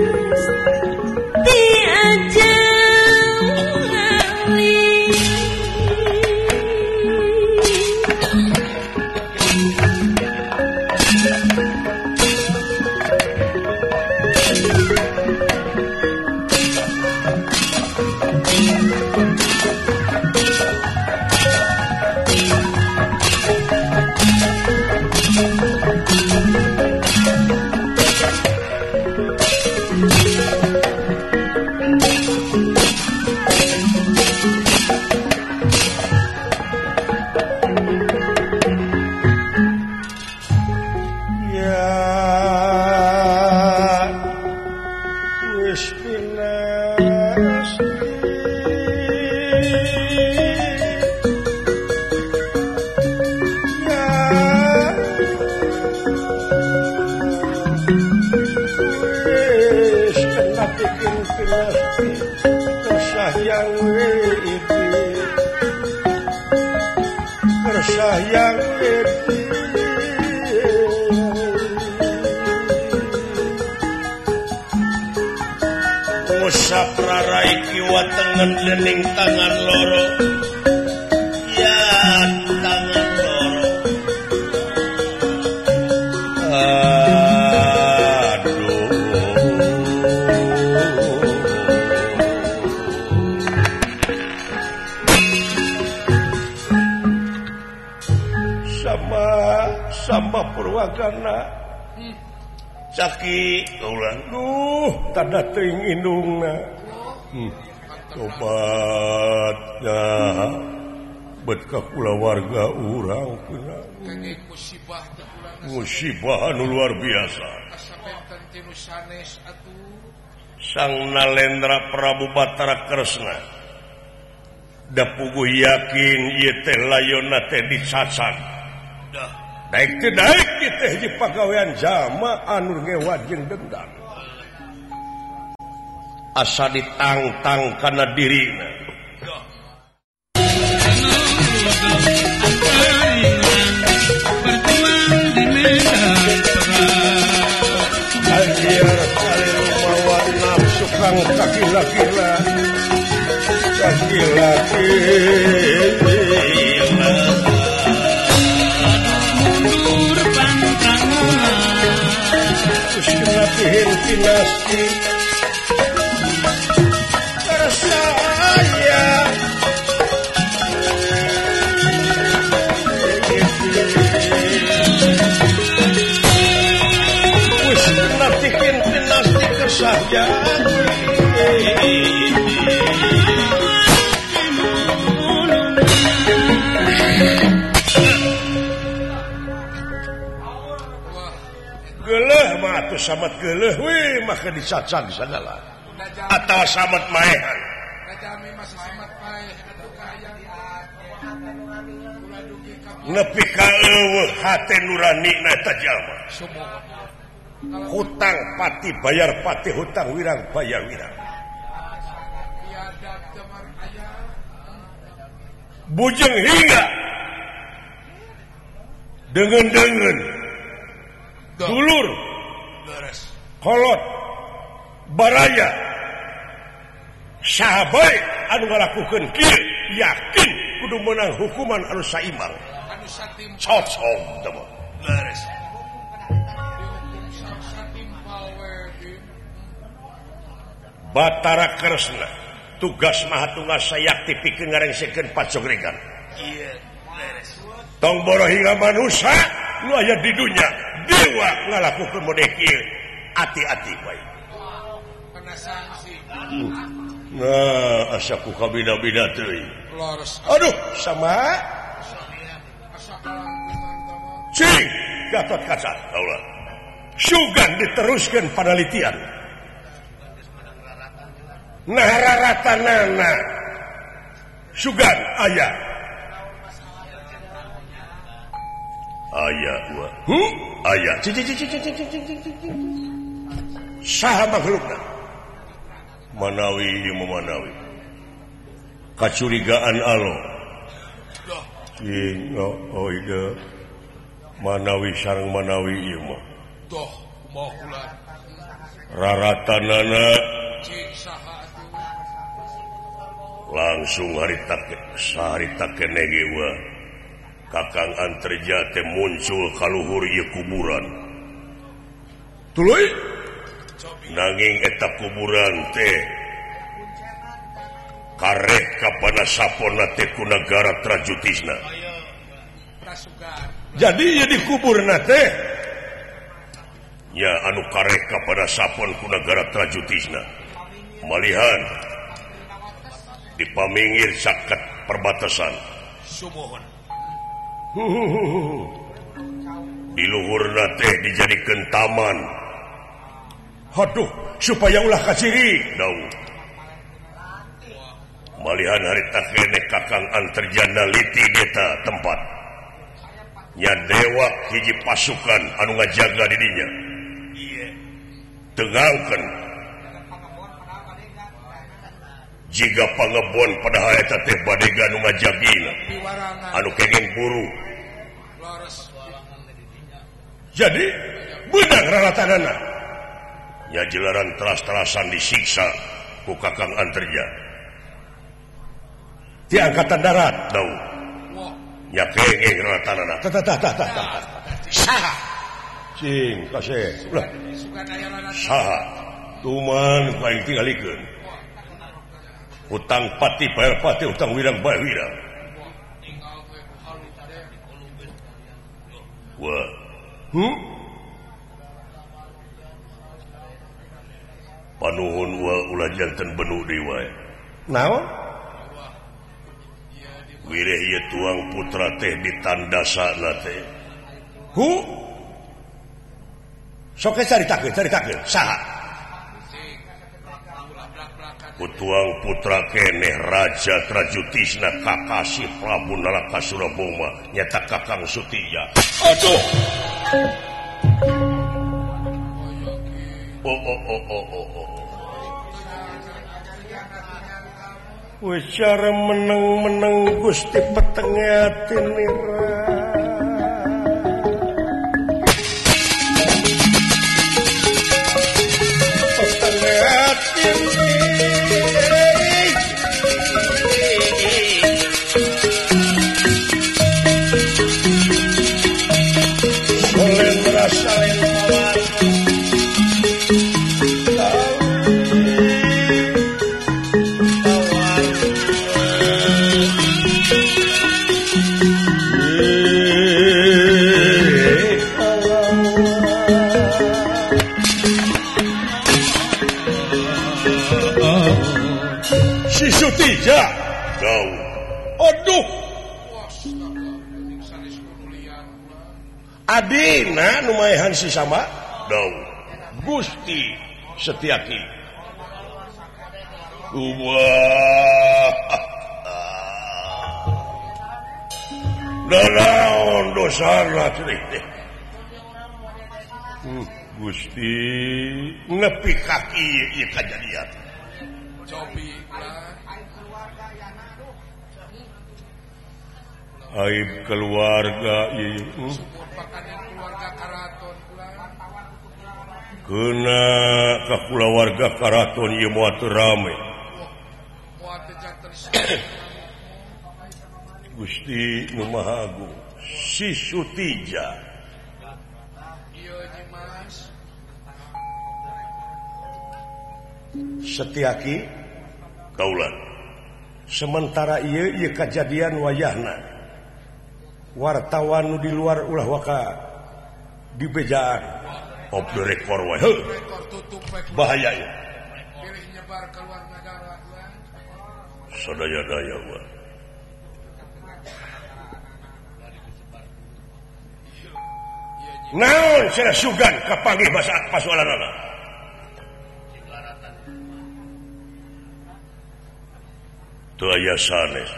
tengen lening tangan loro ya tangan loro aduh sama sama Purwagana caki ulang duh tanda teuing indungna hmm. Obatnya bet ka kulawarga urang kena musibah musibah anu luar biasa kasabentan tinu sanes atuh Sang Nalendra Prabu Batara Kresna da puguh yakin ieu teh layonna teh dicacan dah daek teh daek teh hiji pagawean jama anu ngewat jeung dendam asa ditangtang kana dirina berjuang di medan perang ajar kali rumawa nafsu kang kakila-kila kakila-kila mundur pantangan terus ngatihin kinasti saja geleh mah atuh samet geleh we maka dicacan sagala atawa samet maehan kajami mah samet pae atuh kaya nepi ka eueuh hate nuranina eta jalma sumoga hutang pati bayar pati hutang wirang bayar wirang biadab temar aya bujeng hingga dengan-dengan dulur beres kolot baraya sahabat anu ngalakukeun kieu yakin kudu menang hukuman anu saimbang anu satim cocok teu beres satim power Batara Kresna tugas Mahatunggal sayakti pikeun ngarengsikeun pacogregan. Iya, beres. Tong borohinga manusia nu aya di dunya dewa ngalakukeun mode kieu. Hati-hati bae. Kena sanksi. Nah, asa ku kabina-bina teuing. Lores. Aduh, sama. Asa kalang Cing, Gatot Kaca, kaulah. Sugan diteruskeun panalitian. Nah raratanana Sugan aya aya wa hmm aya saha makhlukna manawi ieu manawi kacurigaan alo cing oh iya manawi sareng manawi ieu mah doh moh ulah raratanana cing saha langsung harita saharita kenege wa Kakang Antarja teh muncul kaluhur ieu kuburan tuluy nanging eta kuburan teh kareh ka panasaponna teh ku nagara Trajutisna jadi ieu di kuburna teh nya anu kareh ka panasapon ku nagara Trajutisna malihan di pamingir saket perbatasan sumohon di luhurna teh dijadikeun taman aduh supaya ulah kaciri daun malihan harita kene Kakang Antarja naliti eta tempat nya dewa hiji pasukan anu ngajaga di dinya iya tengangkeun jika pangebon padahal eta teh badega nu ngajagina anu kenging buru lores jadi beunang raratanana nya jelaran teras-terasan disiksa ku Kakang Antarja ti angkatan darat daun nya kenging raratanana tah tah tah tah tah saha cing kasih ulah sugan aya lana saha tuman paling tingalikeun utang pati bayar pati utang wirang bayar wirang wah hmm panuhun wa ulah janten benu deui wae naon wireh ieu tuang putra teh ditandasana teh hu sok caritakeun caritakeun saha Kutuang putra keneh Raja Trajutisna Kakasih Prabu Nalakasuraboma nyata Kakang Sutija. Aduh. Oh oh oh oh oh oh. Wis cara meneng-meneng Gusti petengatin nira. Petengatin Sutija daun aduh adina numayahan si sama daun Gusti Setyaki wah danaon dosana teh Gusti nepi kaki ieu kajadian cobi aib keluarga ieu keluarga karaton kena ka kulawarga karaton ieu moal teu rame Gusti Nu Maha Agung si Sutija ieu Mas Setyaki kaulan sementara ieu ieu kejadian wayahna wartawan nu di luar ulah waka dibejaan off the record wae heuh bahaya ieu pilih nyebar ke luar negara sadaya-daya wa naon cenah sugan kapanggih basa pasoalanana teu aya sanes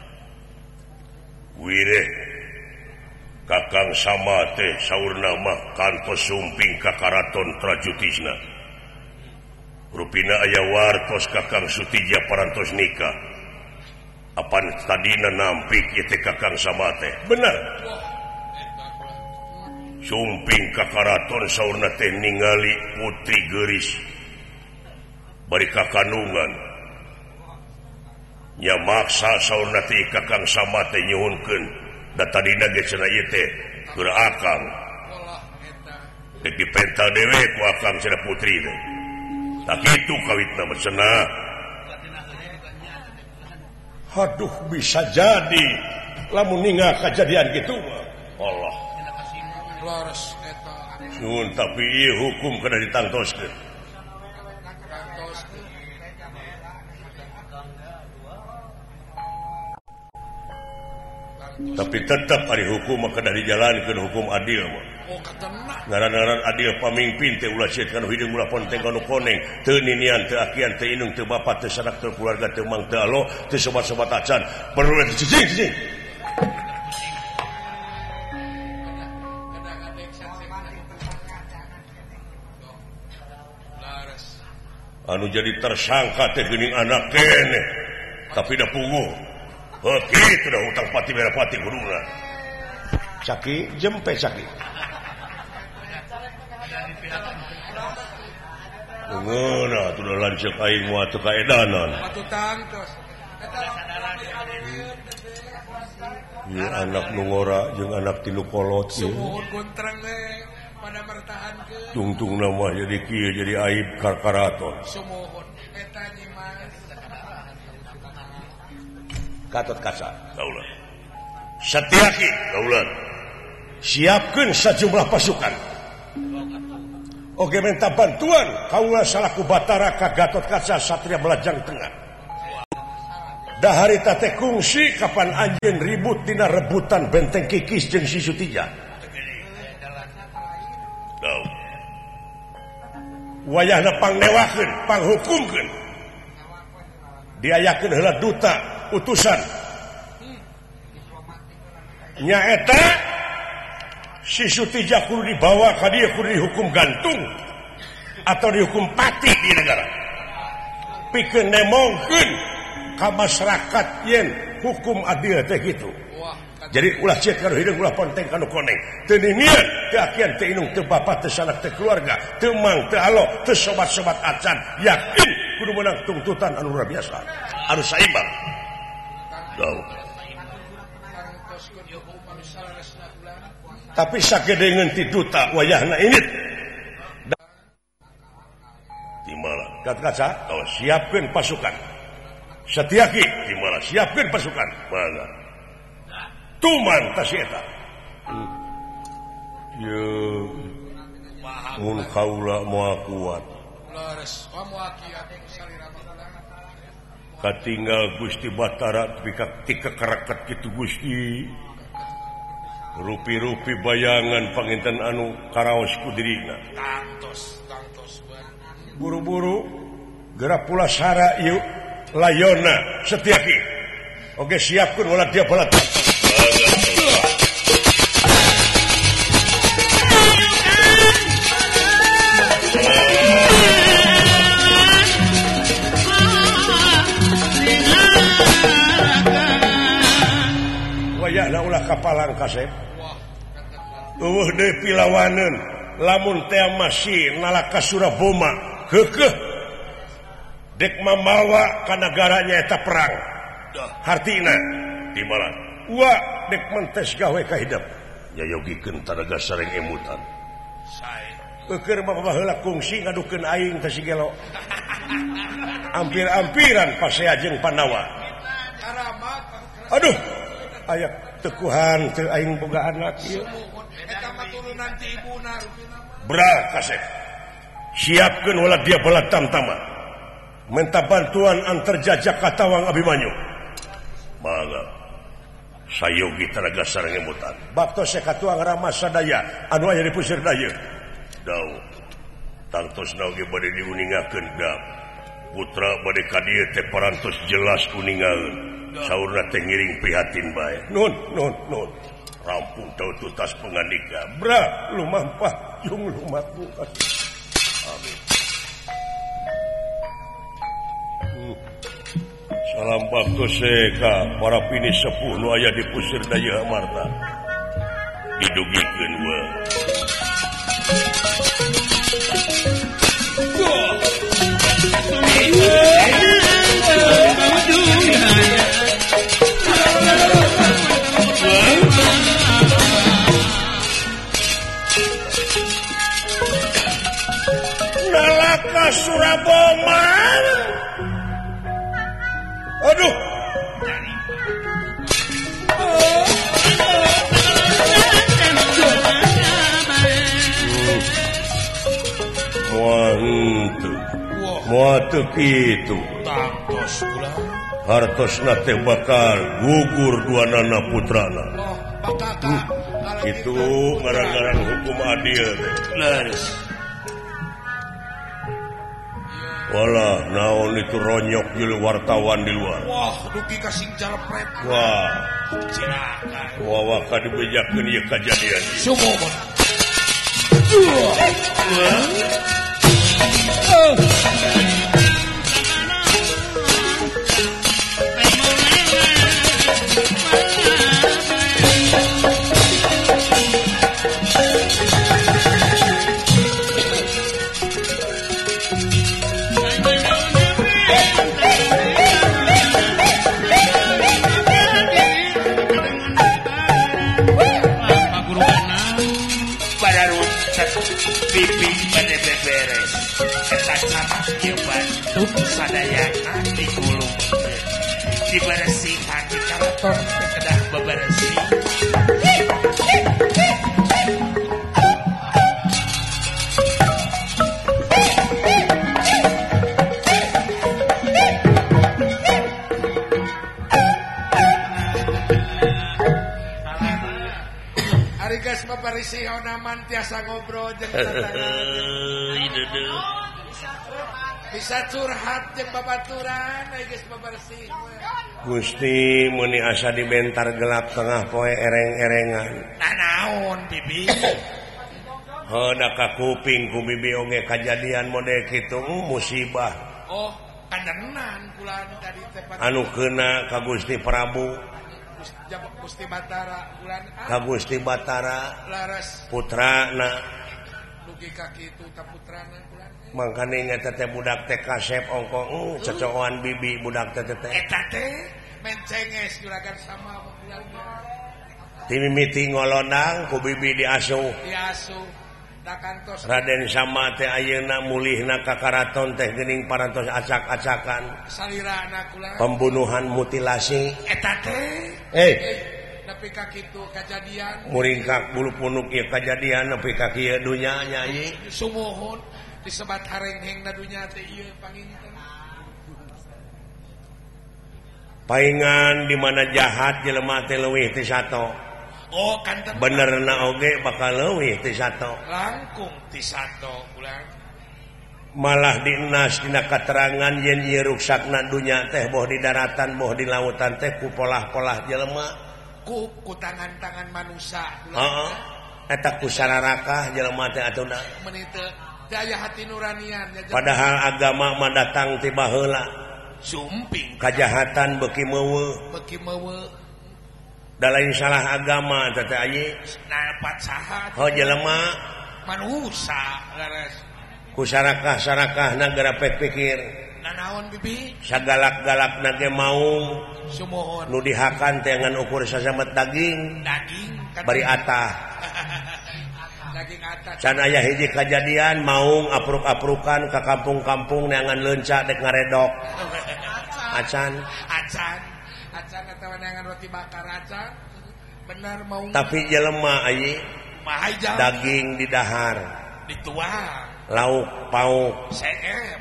wireh kakang sama teh saurna mah kantos sumping ka karaton trajutisna rupina aya wartos kakang Sutija parantos nikah apan tadina nampik ieu teh kakang sama teh bener sumping ka karaton saurna teh ningali putri geuris bari kakanungan nya maksa saurna teh kakang sama teh nyuhunkeun da tadina ge cenah ieu teh keur akang teh dipenta dewe ku akang cenah putri teh tak kitu kawitna mah cenah aduh bisa jadi lamun ningal kejadian kitu mah Allah lores eta nyuhun tapi ieu hukum kana ditantoskeun tapi tetap ari hukum mah kada dijalankeun hukum adil mah oh ketena ngaran-ngaran adil pamimpin teh ulah cieut kana hideung ulah ponteng kana koneng teu ninian teu akian teu indung teu bapa teu sanak teu keluarga teu mang teu alo teu sobat-sobat acan perlu cicing cicing anu jadi tersangka teh geuning anak keneh tapi da puguh oh kitu dah hutang pati merah pati guruna caki jempe caki ngona tuh dah lanceuk aing moal teu kaedanan atuh tangtos ieu anak nu ngora jeung anak tilu kolot ieu sumuhun guntreng we pada mertahankeun tungtungna mah jadi kieu jadi aib karkaraton sumuhun eta nyimas Gatot Kaca kaulah Satyaki kaulah siapkeun sajumlah pasukan oge minta bantuan kaulah salaku batara ka Gatot Kaca satria Belajang Tengah dahari teh kungsi kapan anjeun ribut dina rebutan benteng Kikis jeung si Sutija tau wayahna pangnewakeun panghukumkeun diayakeun heula duta utusan nyaeta si Sutija kudu dibawa ka dieu kudu dihukum gantung atau dihukum pati di negara pikeun nemongkeun ka masyarakat yen hukum adil teh kitu jadi ulah cieut kana hideung ulah ponteng kana koneng teu ninian teu akian teu indung teu bapa teu sanak teu keluarga teu mang teu alo teu sobat-sobat acan yakin kudu menang tuntutan anu luar biasa anu saimbang tahu tapi sakedeungeun ti duta wayahna ini timala Gatot Kaca oh siapkeun pasukan Satyaki timala siapkeun pasukan mangga tuman tas eta ye mun kaula moal kuat lores kamu akiat salira katinggal Gusti Batara pika tika karakat kitu Gusti rupi-rupi bayangan panginten anu karaos ku dirina tangtos tangtos buru-buru gerak pula sara ieu layona Satyaki oge siapkeun ulah dia balat wayahna ulah kapalang kasep eueuh deui pilawaneun lamun teh masih nalaka Suraboma keukeuh dek mamawa ka nagaranya eta perang hartina di mana wa dek mentes gawe ka hidup nya yogikeun taraga sareng emutan sae keur mah baheula kungsi ngadukeun aing teh si gelo hampir-ampiran pasajeng Panawa aduh aya tekuhan teu aing boga anak ieu bra kasep siapkeun ulah dia bala tamtama minta bantuan antar jajak katawang Abimanyu mangga sayogi taraga sarengemutan baktos katuang Rama sadaya anu aya di pusir daya daw tangtosna oge bade diuningakeun da putra bade ka dieu teh parantos jelas kuningaeun saurna teh ngiring prihatin bae nun nun nun rampung tau tutas pengandika bra lumampah jung lumaku amin hmm. Salam baktos ka para pini sepuh nu aya di pusir daya Amarta didugikeun we Nalaka Suraboma aduh muantu muatu kitu tangtos kula hartosna teh bakal gugur duanana putrana bakaka itu ngarang-ngarang hukum adil teh leres wala naon itu ronyok jul wartawan di luar wah dugi kasing jalpret wah cilaka wah waka dibejakeun ieu kajadian sumomon pipi pada beberes eta catak ieu batu sadayana digulung diberesihan di karaton kedah beberesih Arigas maparisi onaman tiasa ngobrol jeung tetangga. Bisa curhat jeung babaturan Arigas maparisi. Gusti muni asa dibentar gelap tengah poe ereng-erengan. Nah naon bibi? Heuda ka kuping ku bibi oge kajadian model kitu musibah. Oh, kandenan kula tadi teh anu keuna ka Gusti Prabu Gusti Batara bulan ka Gusti Batara laras putrana dugi ka kitu ka putrana bulan mangkane ngeta teh budak teh kasep ongko uh, cocokan bibi budak teh teh eta teh mencenges juragan sama bulan ti mimiti ngolondang ku bibi diasuh diasuh da kantos Raden Sama teh ayeuna mulihna ka karaton teh geuning parantos acak-acakan salirana kula pembunuhan mutilasi eta teh eh nepi ka kitu kajadian muringkak bulu punuk ieu kajadian nepi ka kieu dunya nyai sumuhun disebat harenghengna dunya teh ieu panginten paingan di mana jahat jelema teh leuwih ti sato oh kanten benerna oge bakal leuwih ti sato langkung ti sato ulang malah dinas dina katerangan yen ieu ruksakna dunya teh boh di daratan boh di lautan teh ku polah-polah jelema ku ku tangan-tangan manusia heeh eta ku sararakah jelema teh atuna meuni teu daya hati nuranian ya, padahal agama mah datang ti baheula sumping kajahatan beuki meuweuh beuki meuweuh da lain salah agama teh aya napat saha oh jelema manusia laras ku sarakah-sarakahna gara pikir nanaon bibi sagalak-galakna ge mau sumuhun nu dihakan teh ngan ukur sasamet daging daging kan bari atah can aya hiji kejadian maung apruk-aprukan ke kampung-kampung neangan leunca dek ngaredok acan acan acan atawa neangan roti bakar acan bener maung tapi jelema ayi daging di dahar dituang lauk pauk seep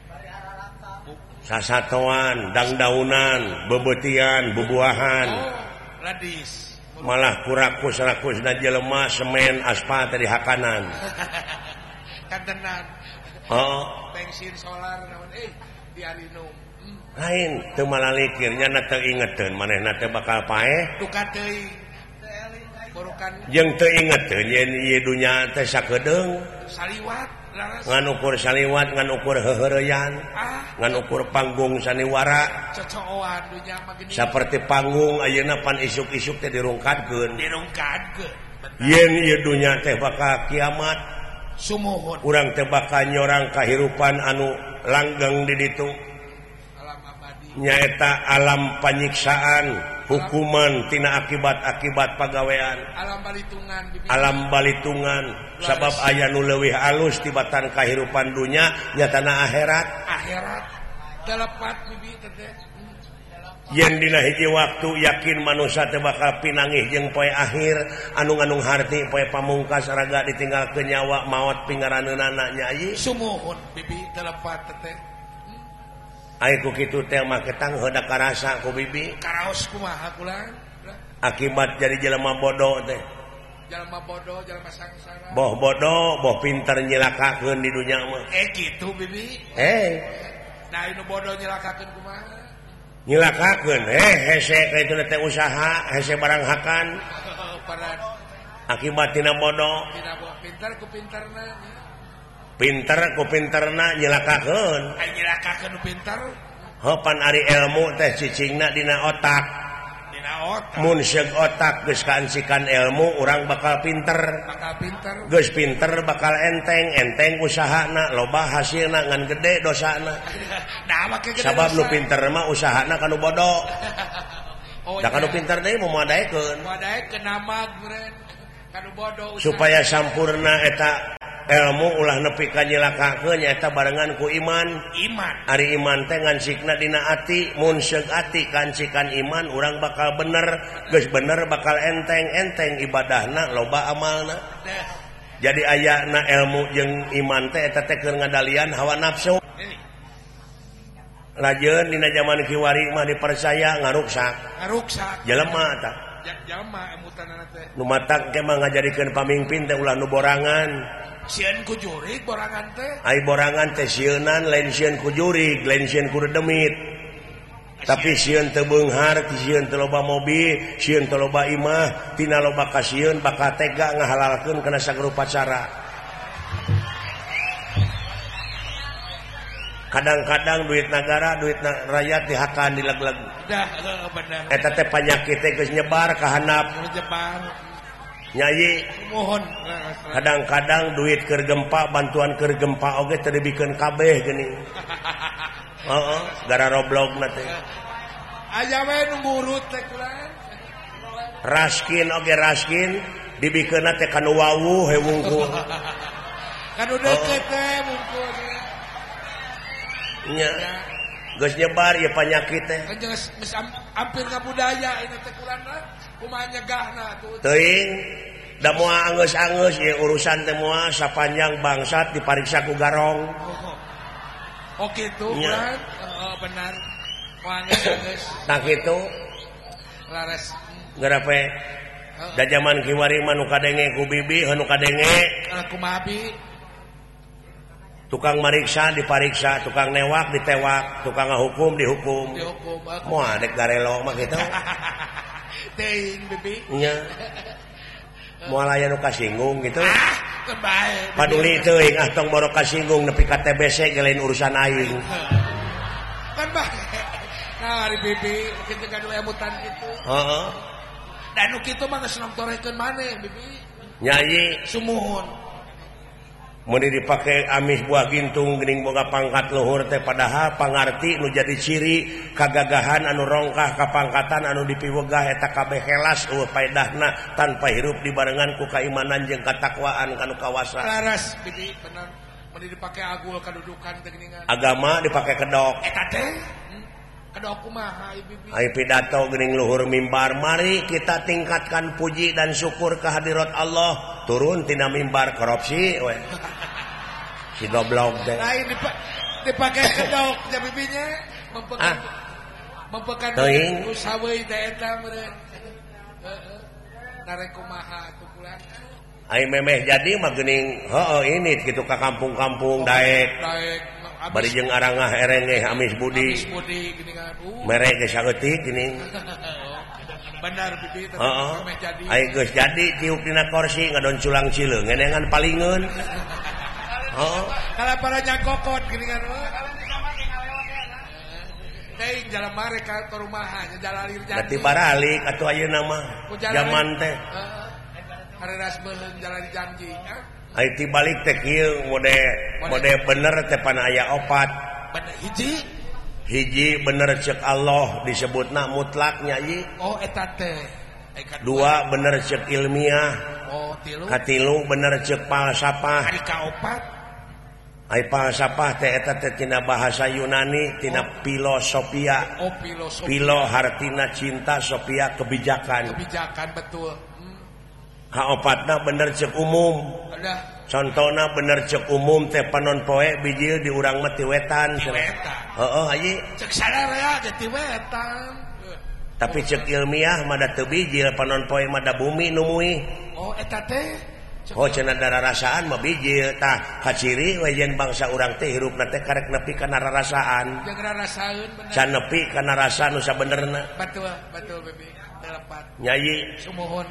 sasatoan dangdaunan bebetian bubuahan oh, ladis malah kurakus-rakusna jelema semen aspal tadi hakanan kantenan oh bensin solar naon eh di Arinum hmm. lain teu malalikir nya teu ingeteun manehna teh bakal paeh duka teuing burukan jeung teu ingeteun yen ieu dunya teh sakedeung saliwat laras ngan ukur saliwat ngan ukur heuheureyan ah ngan ukur panggung saniwara cocokan dunya mah gini saperti panggung ayeuna pan isuk-isuk teh dirungkadkeun dirungkadkeun yen ieu dunya teh bakal kiamat sumuhun urang teh bakal nyorang kahirupan anu langgeng di ditu alam abadi nyaeta alam panyiksaan hukuman tina akibat-akibat pagawean alam balitungan bibi. alam balitungan sabab aya nu leuwih alus tibatan kahirupan dunya nyatana akhirat akhirat telepat bibi teh yen dina hiji waktu yakin manusia teh bakal pinangih jeung poe akhir anu ngandung harti poe pamungkas raga ditinggalkeun nyawa maot pingaraneunana nyai sumuhun bibi telepat teh ai ku kitu teh mah ketang heudak karasa ku bibi karaos kumaha kulang akibat jadi jelema bodoh teh jalma bodoh jalma sangsara boh bodoh boh pinter nyilakakeun di dunya mah eh kitu bibi eh nah anu bodoh nyilakakeun kumaha nyilakakeun eh hese kitu teh usaha hese barang hakan pada akibat tina bodoh tidak boh pintar ku pintarna pinter ku pinterna nyilakakeun ai nyilakakeun pintar hopan ari ilmu teh cicingna dina otak dina otak mun seug otak geus kaansikan ilmu urang bakal pinter bakal pintar geus pinter bakal enteng enteng usahana loba hasilna ngan gede dosana nah make gede sabab nu pinter mah usahana kanu bodoh oh da kanu pinter deui mumadaekeun madaekeun nama guren kanu bodoh supaya sampurna eta ilmu ulah nepi ka nyilakakeun nyaeta barengan ku iman iman ari iman teh ngansikna dina ati mun seug ati kancikan iman urang bakal bener geus bener bakal enteng enteng ibadahna loba amalna jadi ayana ilmu jeung iman teh eta teh keur ngadalian hawa nafsu lajeun dina zaman kiwari mah dipercaya ngaruksak ngaruksak jelema tah jalma emutanana teh nu matak ge mah ngajadikeun pamimpin teh ulah nu borangan sieun ku jurig borangan teh ai borangan teh sieunan lain sieun ku jurig lain sieun ku demit tapi sieun teu beunghar sieun teu loba mobil sieun teu loba imah tina loba ka sieun bakal tega ngahalalkeun kana sagrupa cara kadang-kadang duit negara duit rakyat dihakan dileg-leg dah bener eta teh panyakit teh geus nyebar ka handap nyebar nyai mohon kadang-kadang duit keur gempa bantuan keur gempa oge teu dibikeun kabeh geuning heeh gara roblogna teh aya we nu ngurut teh kulaan raskin oge raskin dibikeunna teh kanu wawuh he wungkul kanu deukeut teh wungkul nya geus nyebar ieu panyakit teh kan geus hampir ka budaya ini teh kulaan kumaha nyegahna tuh teuing da moal angeus-angeus ieu urusan teh moal sapanjang bangsat dipariksa ku garong oh kitu kulaan heeh benar moal angeus-angeus tah kitu laras garape da zaman kiwari mah nu kadenge ku bibi heuh nu kadenge kumaha bi tukang mariksa dipariksa tukang newak ditewak tukang ngahukum dihukum dihukum moal dek garelo mah kitu teuing bibi nya moal aya nu kasinggung gitu ah kebae paduli teuing ah tong boro kasinggung nepi ka T B C ge lain urusan aing kan bae nah ari bibi kitu kan we emutan kitu heeh dan nu kitu mah geus nomtorekeun maneh bibi nyai sumuhun Meni dipakai amis buah gintung geuning boga pangkat luhur teh padahal pangarti nu jadi ciri kagagahan anu rongkah kapangkatan anu dipiwegah eta kabeh helas eueuh paedahna tanpa hirup dibarengan ku kaimanan jeung katakwaan kanu kawasa. Laras bibi bener. Meni dipakai agul kadudukan teh geuningan. Agama dipakai kedok. Eta teh kedok kumaha ieu bibi? Ai pidato geuning luhur mimbar, mari kita tingkatkan puji dan syukur kehadirat Allah. Turun tina mimbar korupsi we. Si goblok teh. Lain dipakai kedok ya bibinya mempekan ah. mempekan usaha we teh eta meureun. Heeh. Narek kumaha atuh kula. Ai memeh jadi mah geuning heueuh ini kitu ka kampung-kampung daek. Daek. Bari jeung arangah erengeh amis budi. Amis budi geuningan. Uh. Mere geus saeutik geuning. Benar bibi teh heeh. memeh jadi. Ai geus jadi tiuk dina kursi ngadon culang cileung ngenengan palingeun. Heeh. Kalau para nyangkokot geuningan. Kalau di kamar ngalewat ya. Teuing jalan mare ka rumahan jalalir janji. Berarti baralik atuh ayeuna mah. Zaman teh. Heeh. Hareras beuleuh jalan janji. Ai ti balik teh kieu mode mode bener teh pan aya opat. Bener hiji. Hiji bener cek Allah disebutna mutlak nyai. Oh eta teh. Dua bener cek ilmiah. Oh tilu. Katilu bener cek falsafah. Ari kaopat. Ai falsafah teh eta teh tina bahasa Yunani tina oh. filosofia. Oh filosofia. Filo hartina cinta, sofia kebijakan. Kebijakan betul. Kaopatna bener cek umum. Ada. Contohna bener cek umum teh panon poe bijil di urang mah ti wetan. Ti wetan. Heeh, haji. Cek sadarea ge ti wetan. Tapi cek ilmiah mah da teu bijil panon poe mah da bumi nu muih. Oh eta teh. Oh cenah dararasaan mah bijil tah kaciri we yen bangsa urang teh hirupna teh karek nepi kana rarasaan. Jeung rarasaeun bener. Can nepi kana rasa nu sabenerna. Betul, betul baby. Telepat. Nyai. Sumuhun.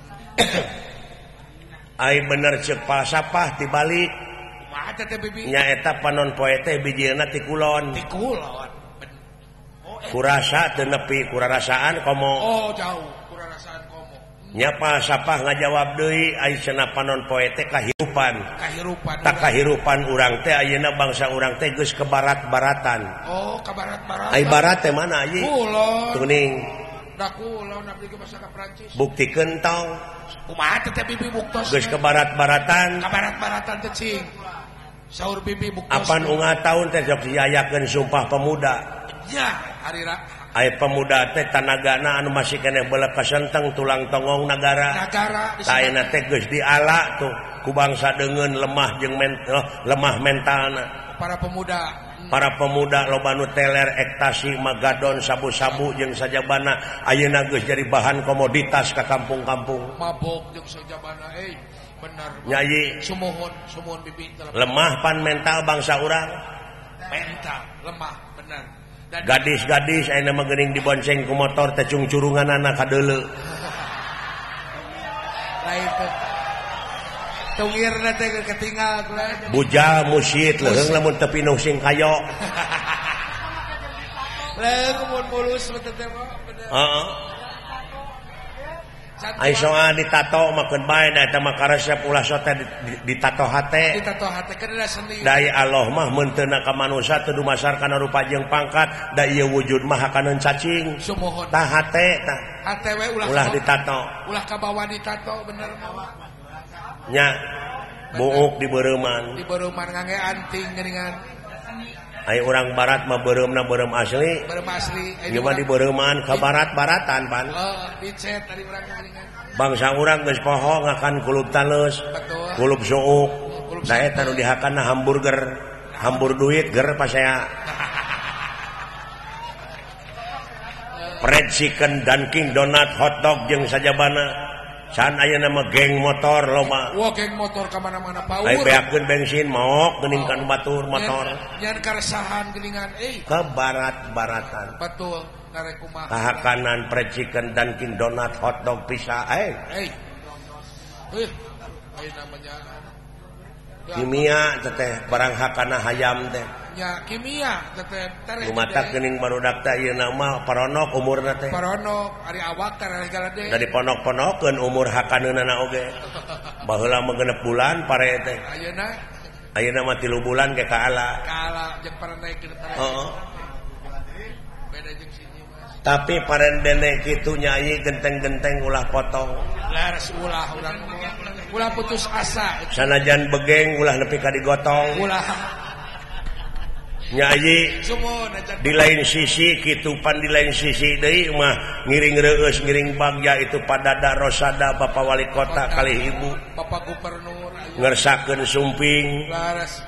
Ai bener cek falsafah tibalik. Kumaha teh bibi? Nya eta panon poe teh bijilna ti kulon. Ti kulon. Oh, eh. Kurasa teu nepi kurarasaan komo. Oh, jauh kurarasaan komo. Nya falsafah ngajawab deui ai cenah panon poe teh kahirupan. Kahirupan. Tak kahirupan urang teh ayeuna bangsa urang teh geus ke barat-baratan. Oh, ke barat-baratan. Ai barat teh mana ieu? Kulon. Tuning. Da kulon abdi ge basa ka Prancis. Buktikeun tong. Kumaha teh bibi buktos? Geus ke barat-baratan. Ka barat-baratan teh cing. Saur bibi buktos. Apan unggah taun teh sok diayakeun Sumpah Pemuda. Ya, hari ra. Ai pemuda teh tanagana anu masih keneh beuleuh kasenteng tulang tongong nagara. Nagara. Taena teh geus diala tuh ku bangsa deungeun lemah jeung mental, lemah mentalna. Para pemuda. Para pemuda loba nu teler, ekstasi, magadon, sabu-sabu jeung sajabana ayeuna geus jadi bahan komoditas ka kampung-kampung. Mabok jeung sajabana euy. Bener. Nyai sumuhun, sumuhun bibi. Lemah pan mental bangsa urang. Mental lemah, bener. Dan gadis-gadis ayeuna mah geuning dibonceng ku motor teh cungcurunganana ka deuleu. Lain teh. Tungirna teh ketinggal kula. Bujal musyid leuheung lamun teu pinuh sing kayo. Leuheung mun mulus teh teh mah bener. Heeh. Ai soal ditato makeun bae da eta mah karesep ulah sote ditato hate. Ditato hate kana seni. Dai Allah mah mun teu na ka manusia teu dumasar kana rupa jeung pangkat, da ieu wujud mah hakaneun cacing. Sumuhun. Tah hate tah. Hate we ulah ulah ditato. Ulah ka bawah ditato bener mah. Nya buuk di beureumman. Di beureumman ngangge anting geuningan. Ai urang barat mah beureumna beureum asli. Beureum asli. Ieu mah di beureumman ka barat-baratan pan. Oh, dicet tadi urang geuningan. Bangsa urang geus poho ngakan kulub taleus. Betul. Kulub suuk. Da eta nu dihakanna hamburger. Hambur duit ger pasea. Fried chicken, Dunkin Donut, hotdog jeung sajabana. Can ayeuna mah geng motor loba. Wah, geng motor ka mana-mana power. Ai beakeun bensin maok geuning kan batur motor. Nyan karesahan geuningan euy. Ke barat-baratan. Betul, karek kumaha. Kahakanan fried chicken, Dunkin Donut, hotdog, pizza, eh. Euy. Euy, aya namanya kimia teteh barang hakana hayam teh. Ya, kimia teteh tareh. Lumatak geuning barudak teh ayeuna mah paronok umurna teh. Paronok ari awak tareh galade. Da diponok-ponokeun umur hakaneunana oge. Baheula mah genep bulan pare teh. Ayeuna ayeuna mah tilu bulan ke kaala kaala jeung parendeuk heeh beda jeung sini Mas tapi parendene kitu nyai genteng-genteng ulah potong laras ulah urang ulah putus asa sanajan begeng ulah nepi ka digotong ulah nyai sumon di lain sisi kitu pan di lain sisi deui mah ngiring reueus ngiring bagja itu padada rosada Bapak Wali Kota kali ibu Bapak Gubernur ngersakeun sumping laras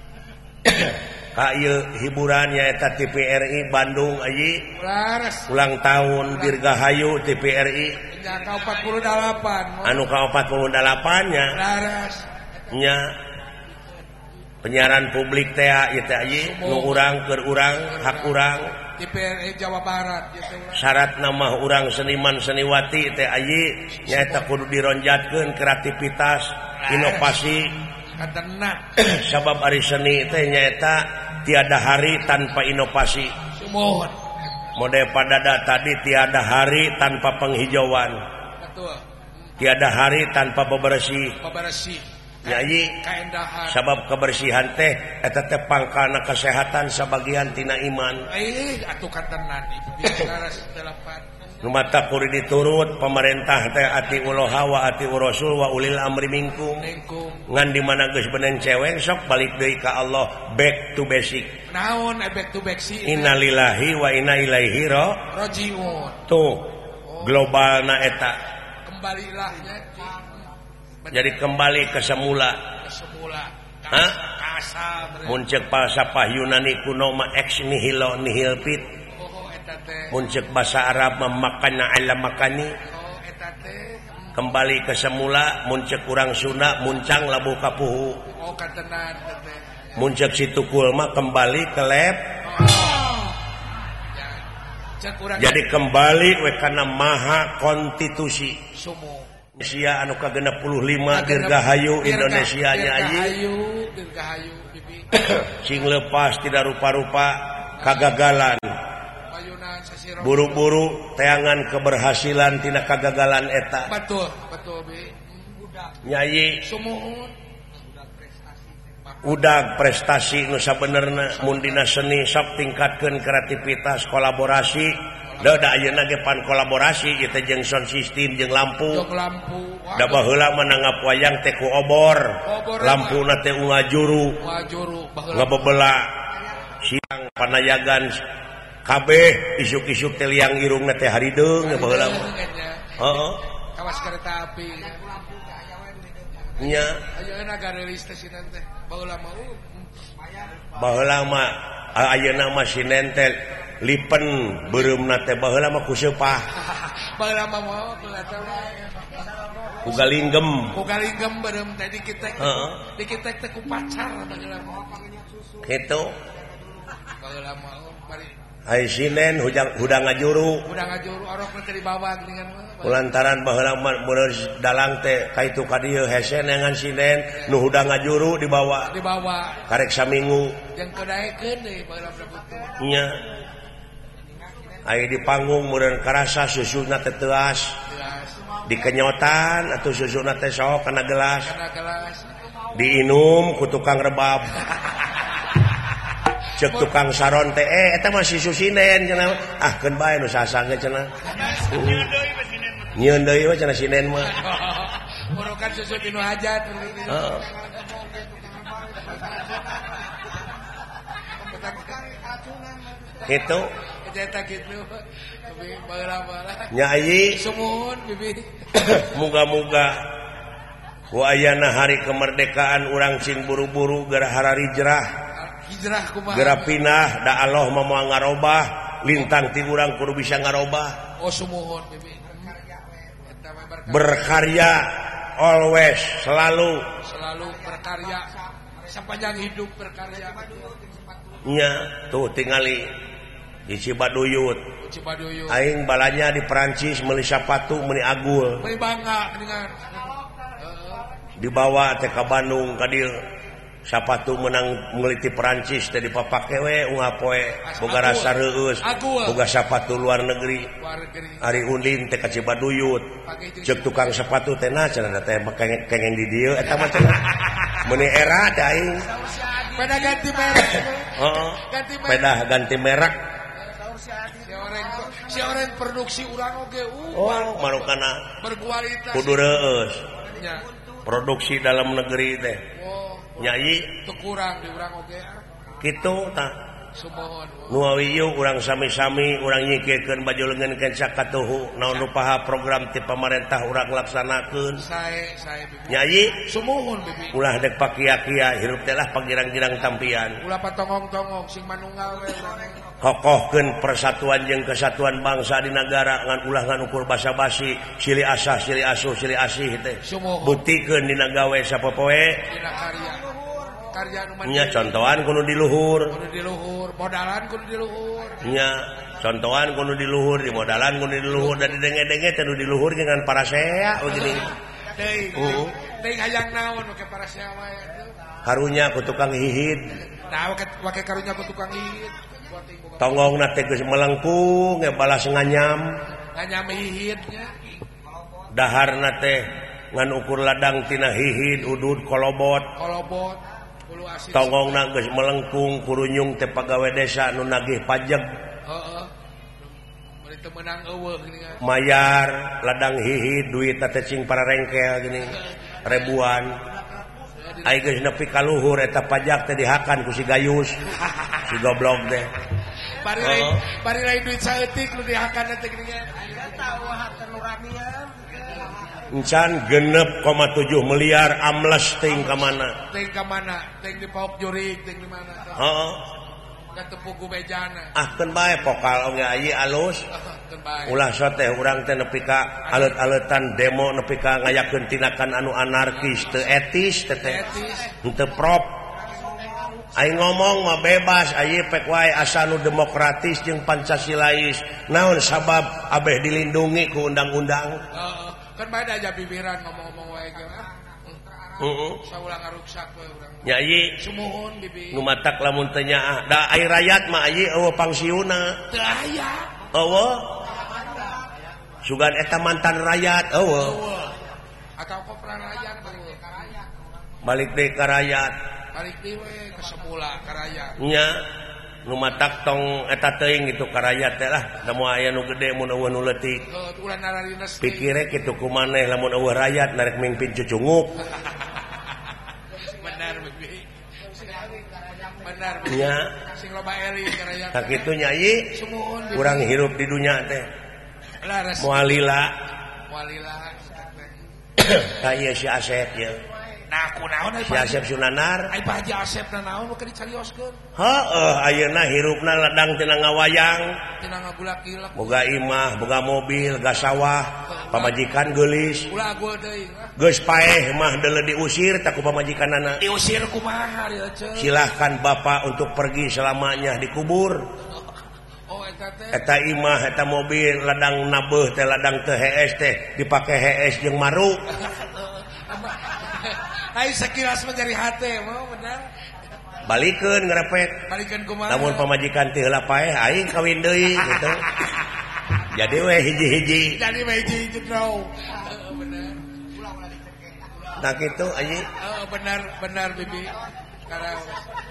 ka ieu hiburan nyaeta T V R I Bandung ayi laras ulang tahun Dirgahayu T V R I nya ka empat puluh delapan anu ka empat puluh delapan nya laras nya penyiaran publik teh ieu teh ayi nu urang keur urang hak urang T V R I Jawa Barat gitu syaratna mah urang seniman seniwati teh ayi nyaeta kudu dironjatkeun kreativitas inovasi katenat sabab ari seni teh nyaeta tiada hari tanpa inovasi sumon mode padada tadi tiada hari tanpa penghijauan betul tiada hari tanpa bebersih bebersih nyai kaendahan sabab kebersihan teh eta teh pangkalna kesehatan sabagian tina iman eh atuh katenat ieu laras delapan nu mata kudu diturut pemerintah teh ati uloha wa ati rasul wa ulil amri minkum lingkum ngan di mana geus beneng cewek sok balik deui ka Allah back to basic naon back to back sih innalillahi wa inna ilaihi rajiun tuh globalna eta kembalilah nya jadi kembali ke semula ke semula hah kasar mun ceuk falsafah Yunani kuno ma ex nihilo nihil fit oh eta teh mun ceuk basa Arab mah makana ala makani oh eta teh kembali ke semula mun ceuk urang Sunda muncang labuh kapuhu oh katenan teh mun ceuk situkul mah kembali ke lab jadi kembali we kana maha konstitusi sumu Indonesia anu ka genep puluh lima Dirgahayu Indonesia nya ayi Dirgahayu Dirgahayu bibi sing lepas tidak rupa-rupa kagagalan payunan sasiro buru-buru teangan keberhasilan tina kagagalan eta betul betul bi budak nyai sumuhun udag prestasi nu sabenerna mun dina seni sok tingkatkeun kreativitas kolaborasi da da ayeuna ge pan kolaborasi ieu teh jeung sound system jeung lampu jeung lampu da baheula mah nanggap wayang teh ku obor lampuna teh unga juru wajuru baheula ngabebela siang panayagan kabeh isuk-isuk teh liang irungna teh harideung baheula mah heeh kawas kereta api nya ayeuna garelis teh sinan teh baheula mah baheula mah ayeuna mah sinen teh lipen beureumna teh baheula mah ku seupah baheula mah moal teh ku galinggem ku galinggem beureum teh dikitek heeh dikitek teh ku pacar baheula mah kitu baheula mah bari ai sinen hudang hudang ngajuru udah ngajuru orok teh dibawa geuningan mah kulantaran baheula mah bener dalang teh kaitu ka dieu hese nengan sinen nu hudang ngajuru dibawa dibawa karek saminggu jeung kedaekeun deui baheula butuh nya aya di panggung meureun karasa susuna teh teuas dikenyotan atuh susuna teh sok kana gelas kana gelas diinum ku tukang rebab cek tukang saron teh eh eta mah si susinen cenah ah keun bae nu sasang ge cenah nyieun deui we cenah sinen mah murukan susu tinu hajat heeh kitu eta kitu bibi baheula mah nyai sumuhun bibi muga-muga ku ayana hari kemerdekaan urang cing buru-buru gara harari jerah hijrah kumaha gara pinah da Allah mah moal ngarobah lintang ti urang kudu bisa ngarobah oh sumuhun bibi eta mah berkarya always selalu selalu berkarya sepanjang hidup berkarya nya tuh tingali di Cibaduyut Cibaduyut aing balanya di Perancis meuli sapatu meuli agul meuli bangga dengan dibawa teh ka Bandung ka dieu sapatu menang meuli ti Perancis teh dipapake we unga poe boga rasa reueus boga sapatu luar negeri ari undin teh ka Cibaduyut ceuk tukang sepatu teh nah cenah teh kengeng di dieu eta mah cenah Meni era daing. Peda ganti merek. Heeh. Ganti merek. Peda ganti merek. Si orang si orang produksi urang oge Oh, manukana berkualitas. kudu reueus. Nya. Produksi dalam negeri teh. Oh. Nyai Teu kurang di urang oge. kitu tah. Sumohon. Nu awiyu urang sami-sami urang nyikeun baju leungeun kenca katuhu naon nu paha program ti pamarentah urang laksanakeun. Sae sae bibi. Nyai Sumohon bibi. ulah dek pakia-kia hirup teh lah pagirang-girang tampian. Ulah patongong-tongong sing manunggal we urang. Kokohkeun persatuan jeung kesatuan bangsa di negara ngan ulah ngan ukur basa-basi silih asah silih asuh silih asih teh. Sumohon. Buktikeun dina gawe sapopoe. Dina karya. Karya nu Nya contohan kudu di luhur. kudu di luhur, modalan kudu di luhur. Nya contohan kudu di luhur, di modalan kudu di luhur dan di denge-denge teh di luhur dengan para sea begini. Deui. Uh. Deui hayang naon we para sea wae. Karunya ku tukang hihit. Nah, wake karunya ku tukang hihit. Tonggongna teh geus melengkung ge balas nganyam. Nganyam hihitnya. Daharna teh ngan ukur ladang tina hihit udud kolobot. Kolobot. Ulu asin. Tonggongna geus melengkung kurunyung teh pagawe desa nu nagih pajeg. Heeh. Bari teu meunang eueuh gini kan. Mayar ladang hihit duit teh cing para rengkel gini. Ribuan. Ai geus nepi ka luhur eta pajak teh dihakan ku si Gayus. Si goblok teh. Bari lain bari lain duit saeutik nu dihakan teh gini kan. Aya tahu harta nuranian. Encan genep koma tujuh miliar amles ting ka mana? Ting ka mana? Ting di pauk jurig, ting di mana? Heeh. Ka tepuk gubejana. Ah keun bae pokal oge aya alus. Keun bae. Ulah so teh urang teh nepi ka alet-aletan demo nepi ka ngayakeun tindakan anu anarkis teu etis teh teh. Henteu prop. Aing ngomong mah bebas aya pek wae asa nu demokratis jeung pancasilais. Naon sabab abeh dilindungi ku undang-undang? Heeh. Kan bae da aja bibiran ngomong-ngomong wae ge. Heeh. Saulang ngaruksak we urang. Nyai Sumuhun bibi. nu matak lamun teu nyaah. Da ai rakyat mah aya eueuh pangsiuna. Teu aya. Eueuh. Sugan eta mantan rakyat eueuh. Eueuh. Atau apa perang rakyat eueuh. Balik deui ka rakyat. Balik deui we ka semula ka rakyat. Nya nu matak tong eta teuing gitu ka rakyat teh lah. Da moal aya nu gede mun eueuh nu leutik. Heuh ulah nararina Pikire kitu kumaneh lamun eueuh rakyat narek mimpin cucunguk. Benar bibi. Benar bibi. Nya Sing loba eri ka rakyat. tak kitu nyai Sumuhun bibi. urang hirup di dunya teh Laras. moal lila. Walilah. Ka ieu si Asep ye. Nah, kunaon ai Si Asep Sunanar. Ai Pak Haji Asep na naon keur dicarioskeun? Heeh, ayeuna hirupna ladang tina ngawayang. Tina ngagulak-gilak. Boga imah, boga mobil, gas sawah, pamajikan geulis. Ulah agul deui. Geus paeh mah deuleu diusir tak ku pamajikanana. Diusir kumaha ieu ceuk? Silahkan Bapak untuk pergi selamanya dikubur. Oh eta teh. Eta imah, eta mobil, ladang nabeuh teh ladang teu hees teh dipake hees jeung maru. Ai sakilas menjadi hate mah benar. Balikeun ngarepek. Balikeun kumaha? Lamun pamajikan teh heula paeh aing kawin deui gitu. Jadi we hiji-hiji. Jadi we hiji-hiji draw. Heeh benar. Nah kitu anjing. Heeh benar benar bibi. Karaos.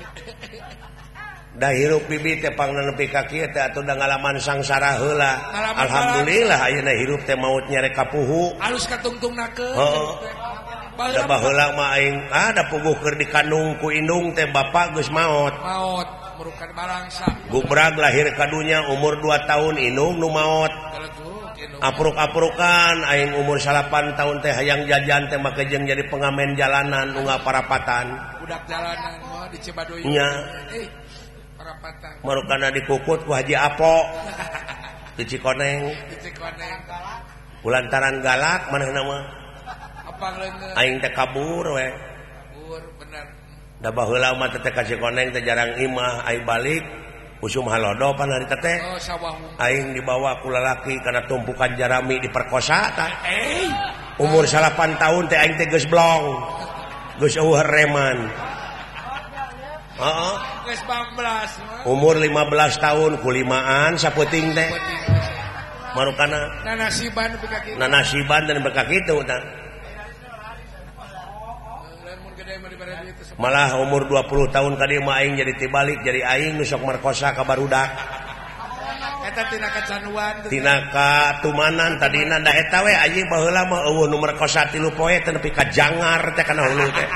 Da hirup bibi teh pangna nepi ka kieu teh atuh da ngalaman sangsara heula. Ngalaman Alhamdulillah ayeuna hirup teh maut nyere kapuhu. Alus katungtungnakeun. Heeh. Da baheula mah aing ah da puguh keur dikandung ku indung teh bapak geus maot. Maot merukan balangsa. Gubrag lahir ka dunya umur dua tahun indung nu maot. Galetuk indung. Apruk-aprukan aing umur salapan tahun teh hayang jajan teh make jeung jadi pengamen jalanan nu ngaparapatan. Budak jalanan mah di Cibadoy. Nya. Eh parapatan. Marukana dikukut ku Haji Apo. Di Cikoneng. Di Cikoneng. Kulantaran galak manehna mah. Apa leungeun? Aing teh kabur we. Kabur bener. Da baheula mah teh ka Cikoneng teh jarang imah, ai balik usum halodo pan hari teh. Oh sawah. Aing dibawa ku lalaki kana tumpukan jarami diperkosa tah. Eh. Umur salapan tahun teh aing teh geus blong. Geus eueuh reman. Heeh. Geus empat belas mah. Umur lima belas tahun kulimaan sapeuting teh. Marukana Nanasiban nepi ka kitu. nanasiban dan berka kitu tah. malah umur dua puluh tahun tadi mah aing jadi tibalik jadi aing nu sok merkosa ka barudak eta tina kecanduan tina katumanan tadina da eta we anjing baheula mah eueuh nu merkosa tilu poe teh nepi ka jangar teh kana hulu teh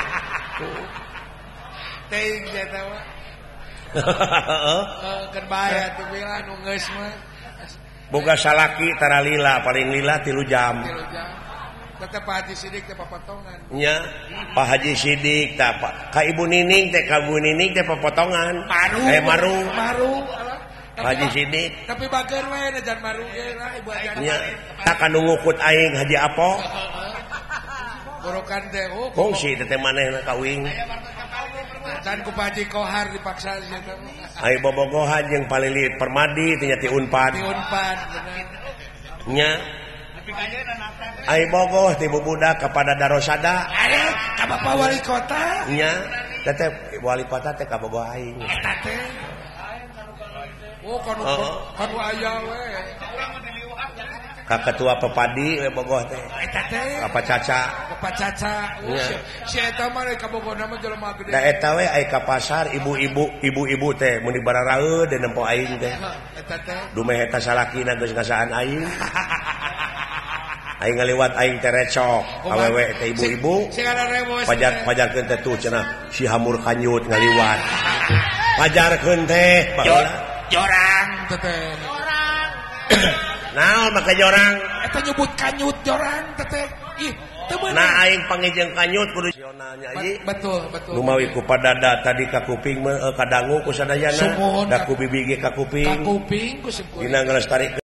teuing eta mah heeh keur bahaya tuh bilang nu geus mah boga salaki tara lila paling lila tilu jam tilu jam tetep Pak Haji Sidik teh papotongan nya Pak Haji Sidik teh ka Ibu Nining teh ka Ibu Nining teh papotongan maru eh maru maru Pak Haji Sidik tapi bager we jan maru ge lah Ibu ajan nya tak anu ngukut aing Haji Apo gorokan teh oh kongsi teh manehna kawing can ku Pak Haji Kohar dipaksa sia teh ai bobogohan jeung Palilit Permadi teh nya ti Unpad di Unpad bener nya ai bogoh ti bubudak kepada Darosada aya ka Bapak Wali Kota nya teteh wali kota teh ka bogoh aing eta teh oh kanu kanu aya we ka ketua Pepadi we bogoh teh eta teh apa Caca Bapak Caca oh si eta mah ka Bogorna mah jelema gede da eta we ai ka pasar ibu-ibu ibu-ibu teh mun dibararaeud dan nempo aing teh eta teh dumeh eta salakina geus ngasaan aing aing ngaliwat aing teh recok awewe teh ibu-ibu pajar pajarkeun teh tuh cenah si hamur kanyut ngaliwat pajarkeun teh jorang teteh naon make jorang eta nyebut kanyut jorang teteh ih teu bener nah aing panggijeng kanyut kudu sionalnya ieu betul betul nu mawi ku padada tadi ka kuping mah ka dangu ku sadayana da ku bibi ge ka kuping ka kuping ku sepuluh dina ngelestarikeun